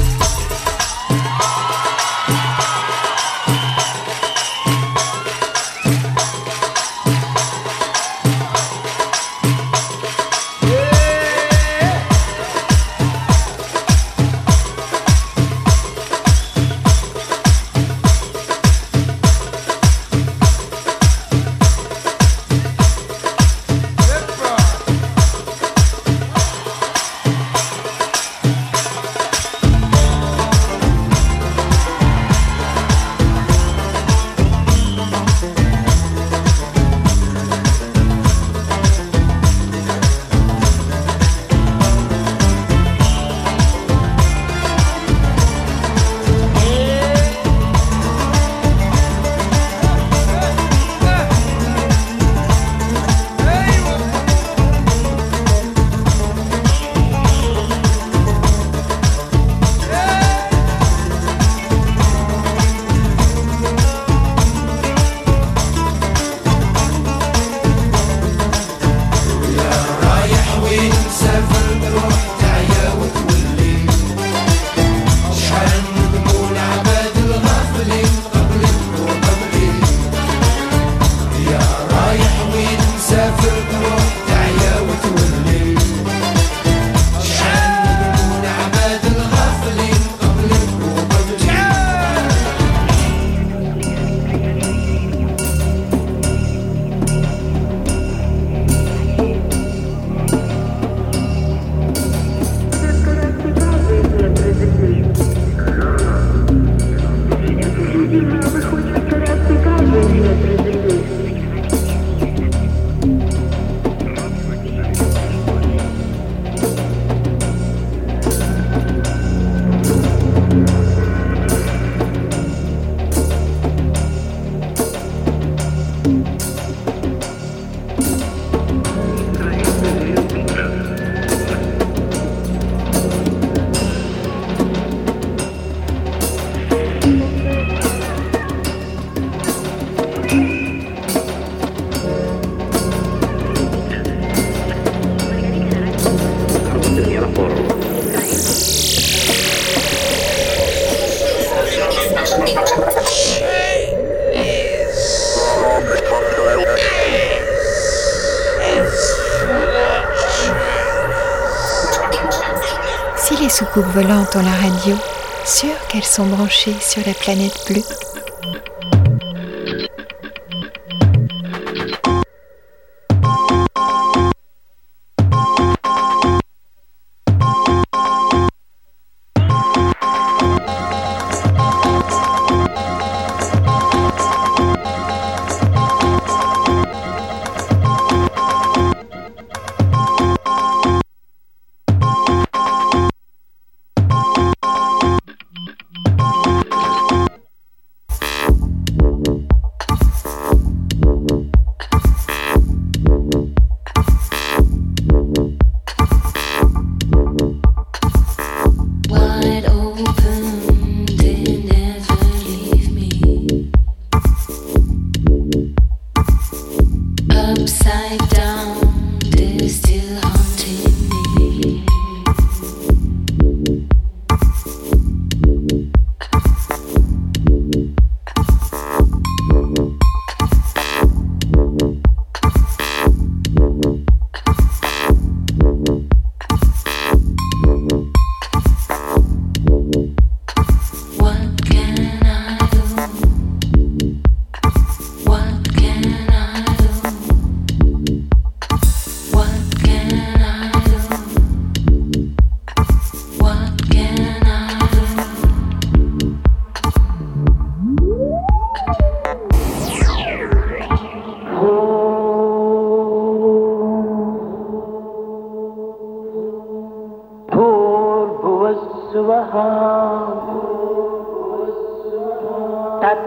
Si les soucoupes volantes ont la radio, sûr qu'elles sont branchées sur la planète bleue.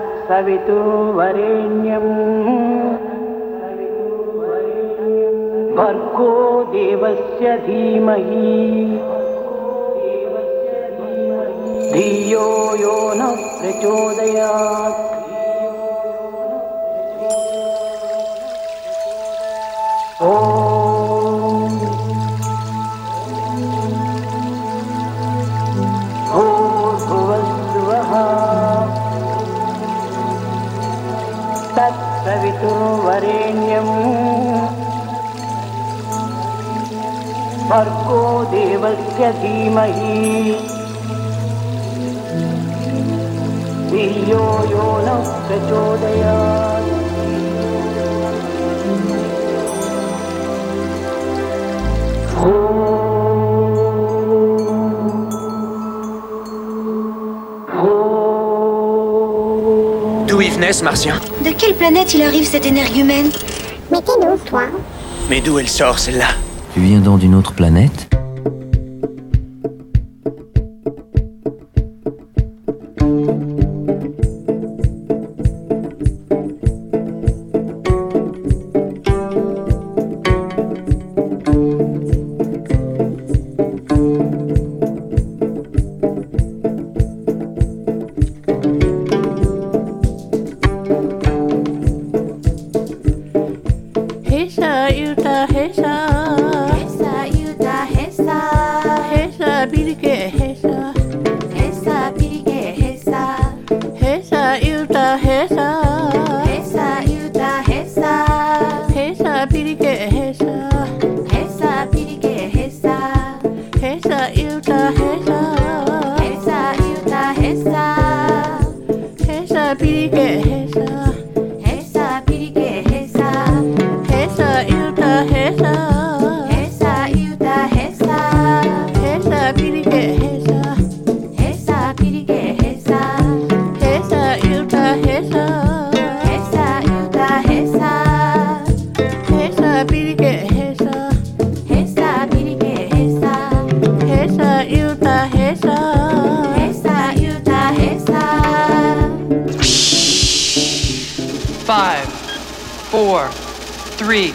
तत्सवितुर्वरेण्यम् भर्गो देवस्य धीमहि धियो यो न प्रचोदयात् ॐ भूर्भुवस्सुवः तत्सवितुर्वरेण्यम् भर्गो देवस्य धीमहि धियो यो न प्रचोदयात् D'où ils venaient, ce martien? De quelle planète il arrive cette énergumène? Mais t'es d'où, toi? Mais d'où elle sort, celle-là? Tu viens donc d'une autre planète? Five, four, three.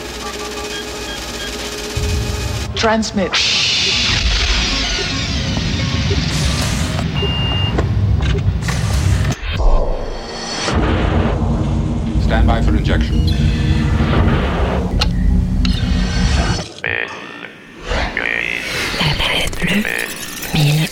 Transmit. Stand by for injection. La planète bleue, mille.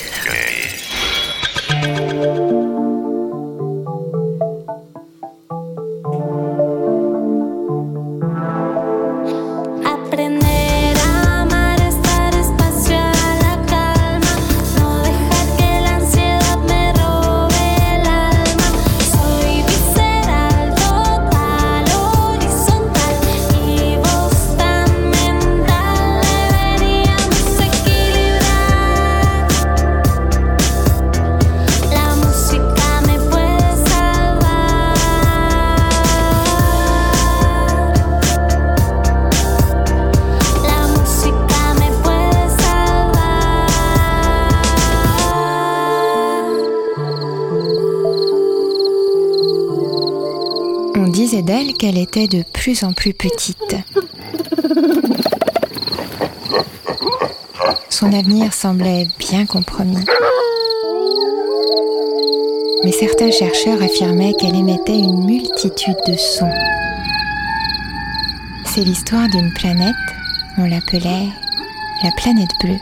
On disait d'elle qu'elle était de plus en plus petite. Son avenir semblait bien compromis. Mais certains chercheurs affirmaient qu'elle émettait une multitude de sons. C'est l'histoire d'une planète, on l'appelait la planète bleue.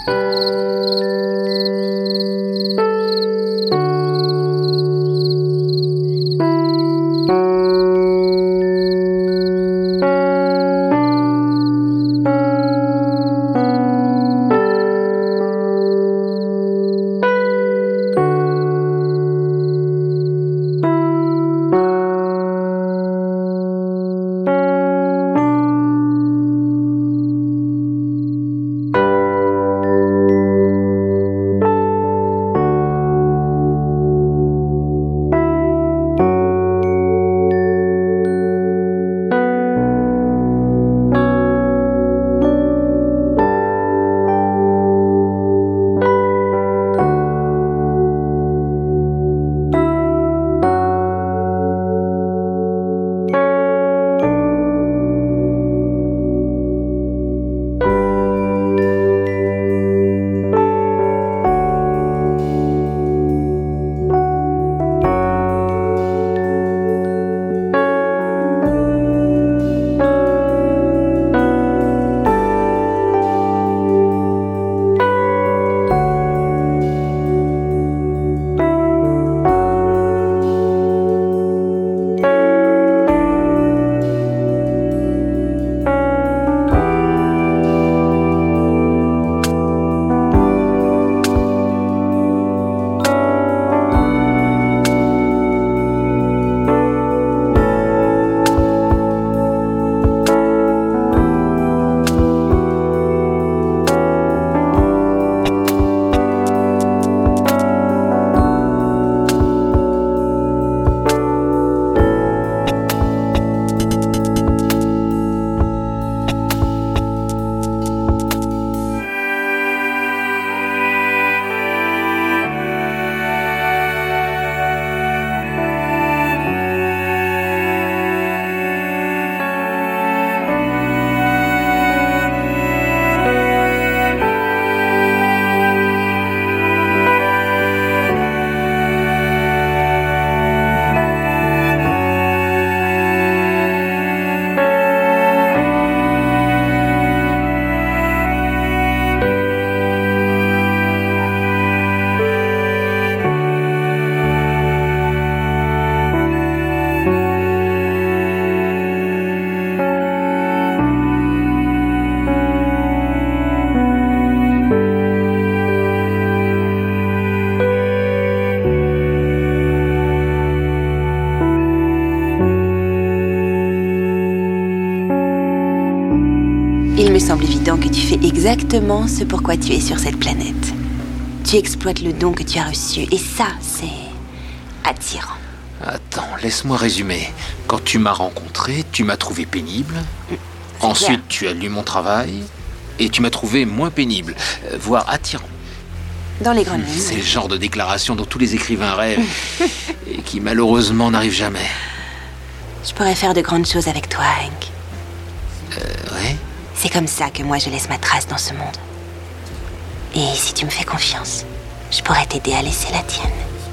évident que tu fais exactement ce pourquoi tu es sur cette planète. Tu exploites le don que tu as reçu, et ça, c'est attirant. Attends, laisse-moi résumer. Quand tu m'as rencontré, tu m'as trouvé pénible. C'est Ensuite, clair. Tu as lu mon travail, et tu m'as trouvé moins pénible, euh, voire attirant. Dans les grandes lignes. C'est le genre de déclaration dont tous les écrivains rêvent, et qui malheureusement n'arrive jamais. Je pourrais faire de grandes choses avec toi, Hank. Euh, ouais. C'est comme ça que moi je laisse ma trace dans ce monde. Et si tu me fais confiance, je pourrais t'aider à laisser la tienne.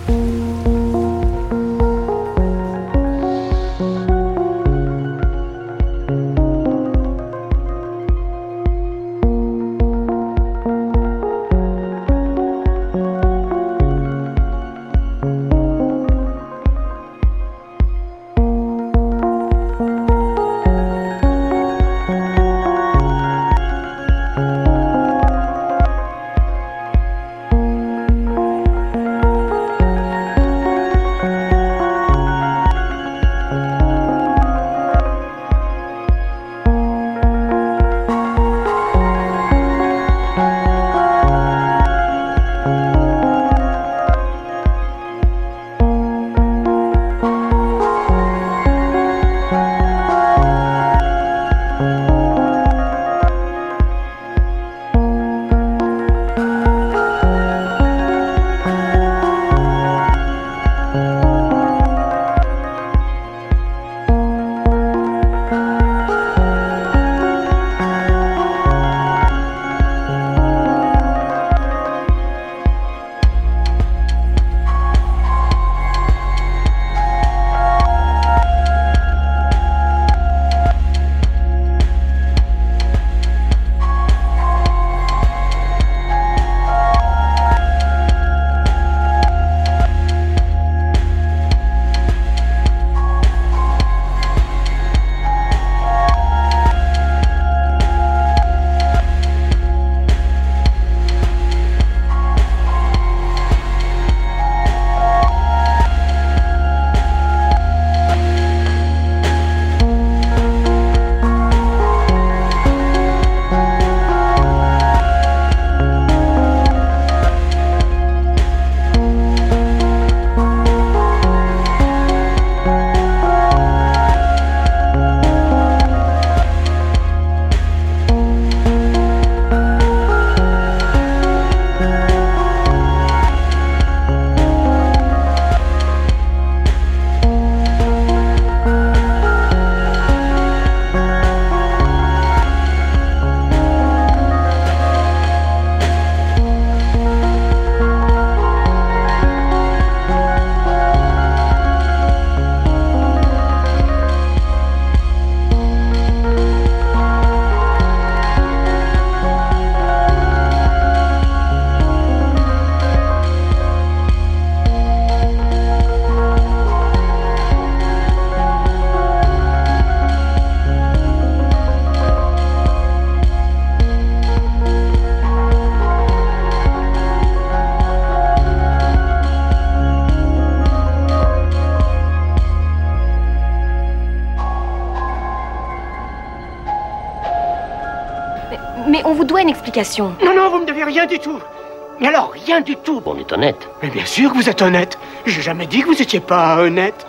Mais on vous doit une explication. Non, non, vous me devez rien du tout. Mais alors, rien du tout. On est honnête. Mais bien sûr que vous êtes honnête. J'ai jamais dit que vous étiez pas honnête.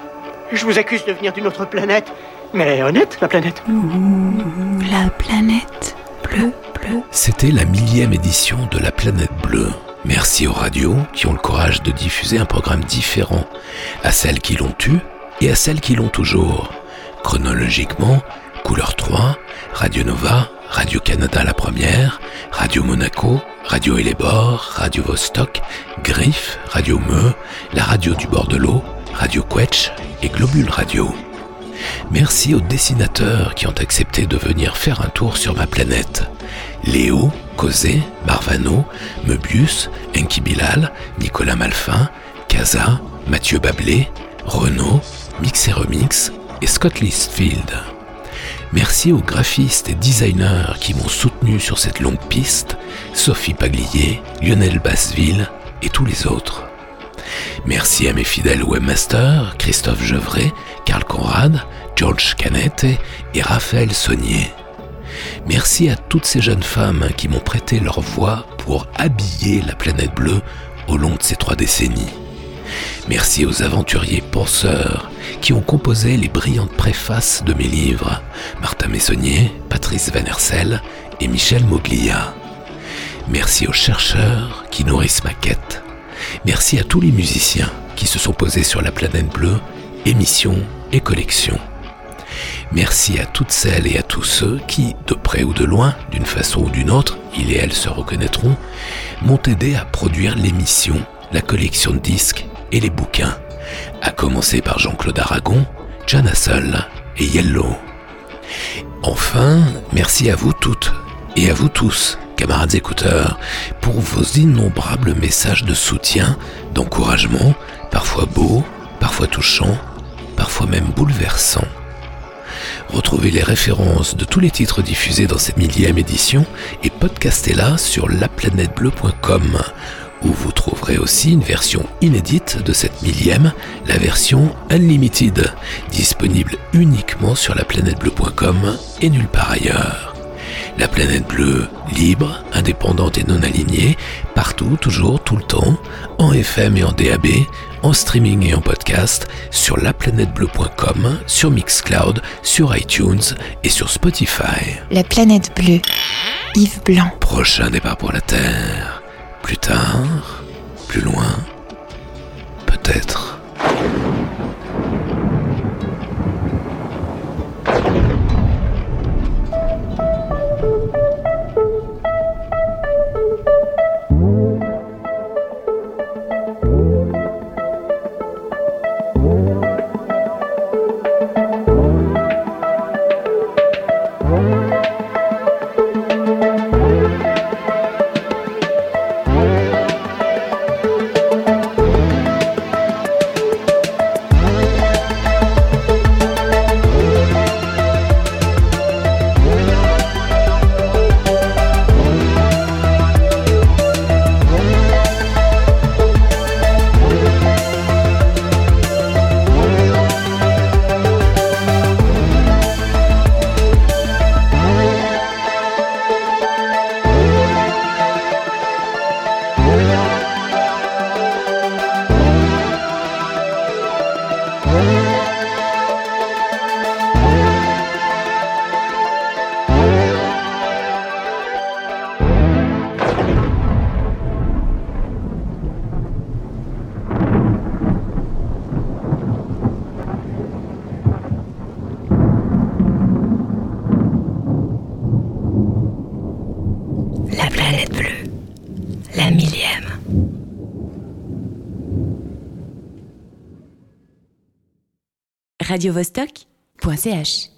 Je vous accuse de venir d'une autre planète. Mais honnête, la planète. Mmh, la planète bleue, bleue. C'était la millième édition de La Planète Bleue. Merci aux radios qui ont le courage de diffuser un programme différent, à celles qui l'ont eu et à celles qui l'ont toujours. Chronologiquement, Couleur trois, Radio Nova, Radio-Canada la première, Radio Monaco, Radio Hellebore, Radio Vostok, Griffe, Radio Meux, la radio du bord de l'eau, Radio Quetch et Globule Radio. Merci aux dessinateurs qui ont accepté de venir faire un tour sur ma planète. Léo, Cosé, Marvano, Möbius, Enki Bilal, Nicolas Malfin, Casa, Mathieu Bablé, Renaud, Mix et Remix et Scott Listfield. Merci aux graphistes et designers qui m'ont soutenu sur cette longue piste, Sophie Paglier, Lionel Basseville et tous les autres. Merci à mes fidèles webmasters, Christophe Gevray, Karl Conrad, George Canette et Raphaël Saunier. Merci à toutes ces jeunes femmes qui m'ont prêté leur voix pour habiller la planète bleue au long de ces trois décennies. Merci aux aventuriers penseurs qui ont composé les brillantes préfaces de mes livres, Martin Messonnier, Patrice Van Hersel et Michel Moglia. Merci aux chercheurs qui nourrissent ma quête. Merci à tous les musiciens qui se sont posés sur la planète bleue, émissions et collections. Merci à toutes celles et à tous ceux qui, de près ou de loin, d'une façon ou d'une autre, ils et elles se reconnaîtront, m'ont aidé à produire l'émission, la collection de disques et les bouquins, à commencer par Jean-Claude Aragon, John Hassel et Yellow. Enfin, merci à vous toutes et à vous tous, camarades écouteurs, pour vos innombrables messages de soutien, d'encouragement, parfois beaux, parfois touchants, parfois même bouleversants. Retrouvez les références de tous les titres diffusés dans cette millième édition et podcastez-la sur la planète bleue point com, où vous trouverez aussi une version inédite de cette millième, la version Unlimited, disponible uniquement sur la planète bleue point com et nulle part ailleurs. La planète bleue, libre, indépendante et non alignée, partout, toujours, tout le temps, en F M et en D A B, en streaming et en podcast, sur la planète bleue point com, sur Mixcloud, sur iTunes et sur Spotify. La planète bleue, Yves Blanc. Prochain départ pour la Terre. Plus tard, plus loin, peut-être. radio vostok point c h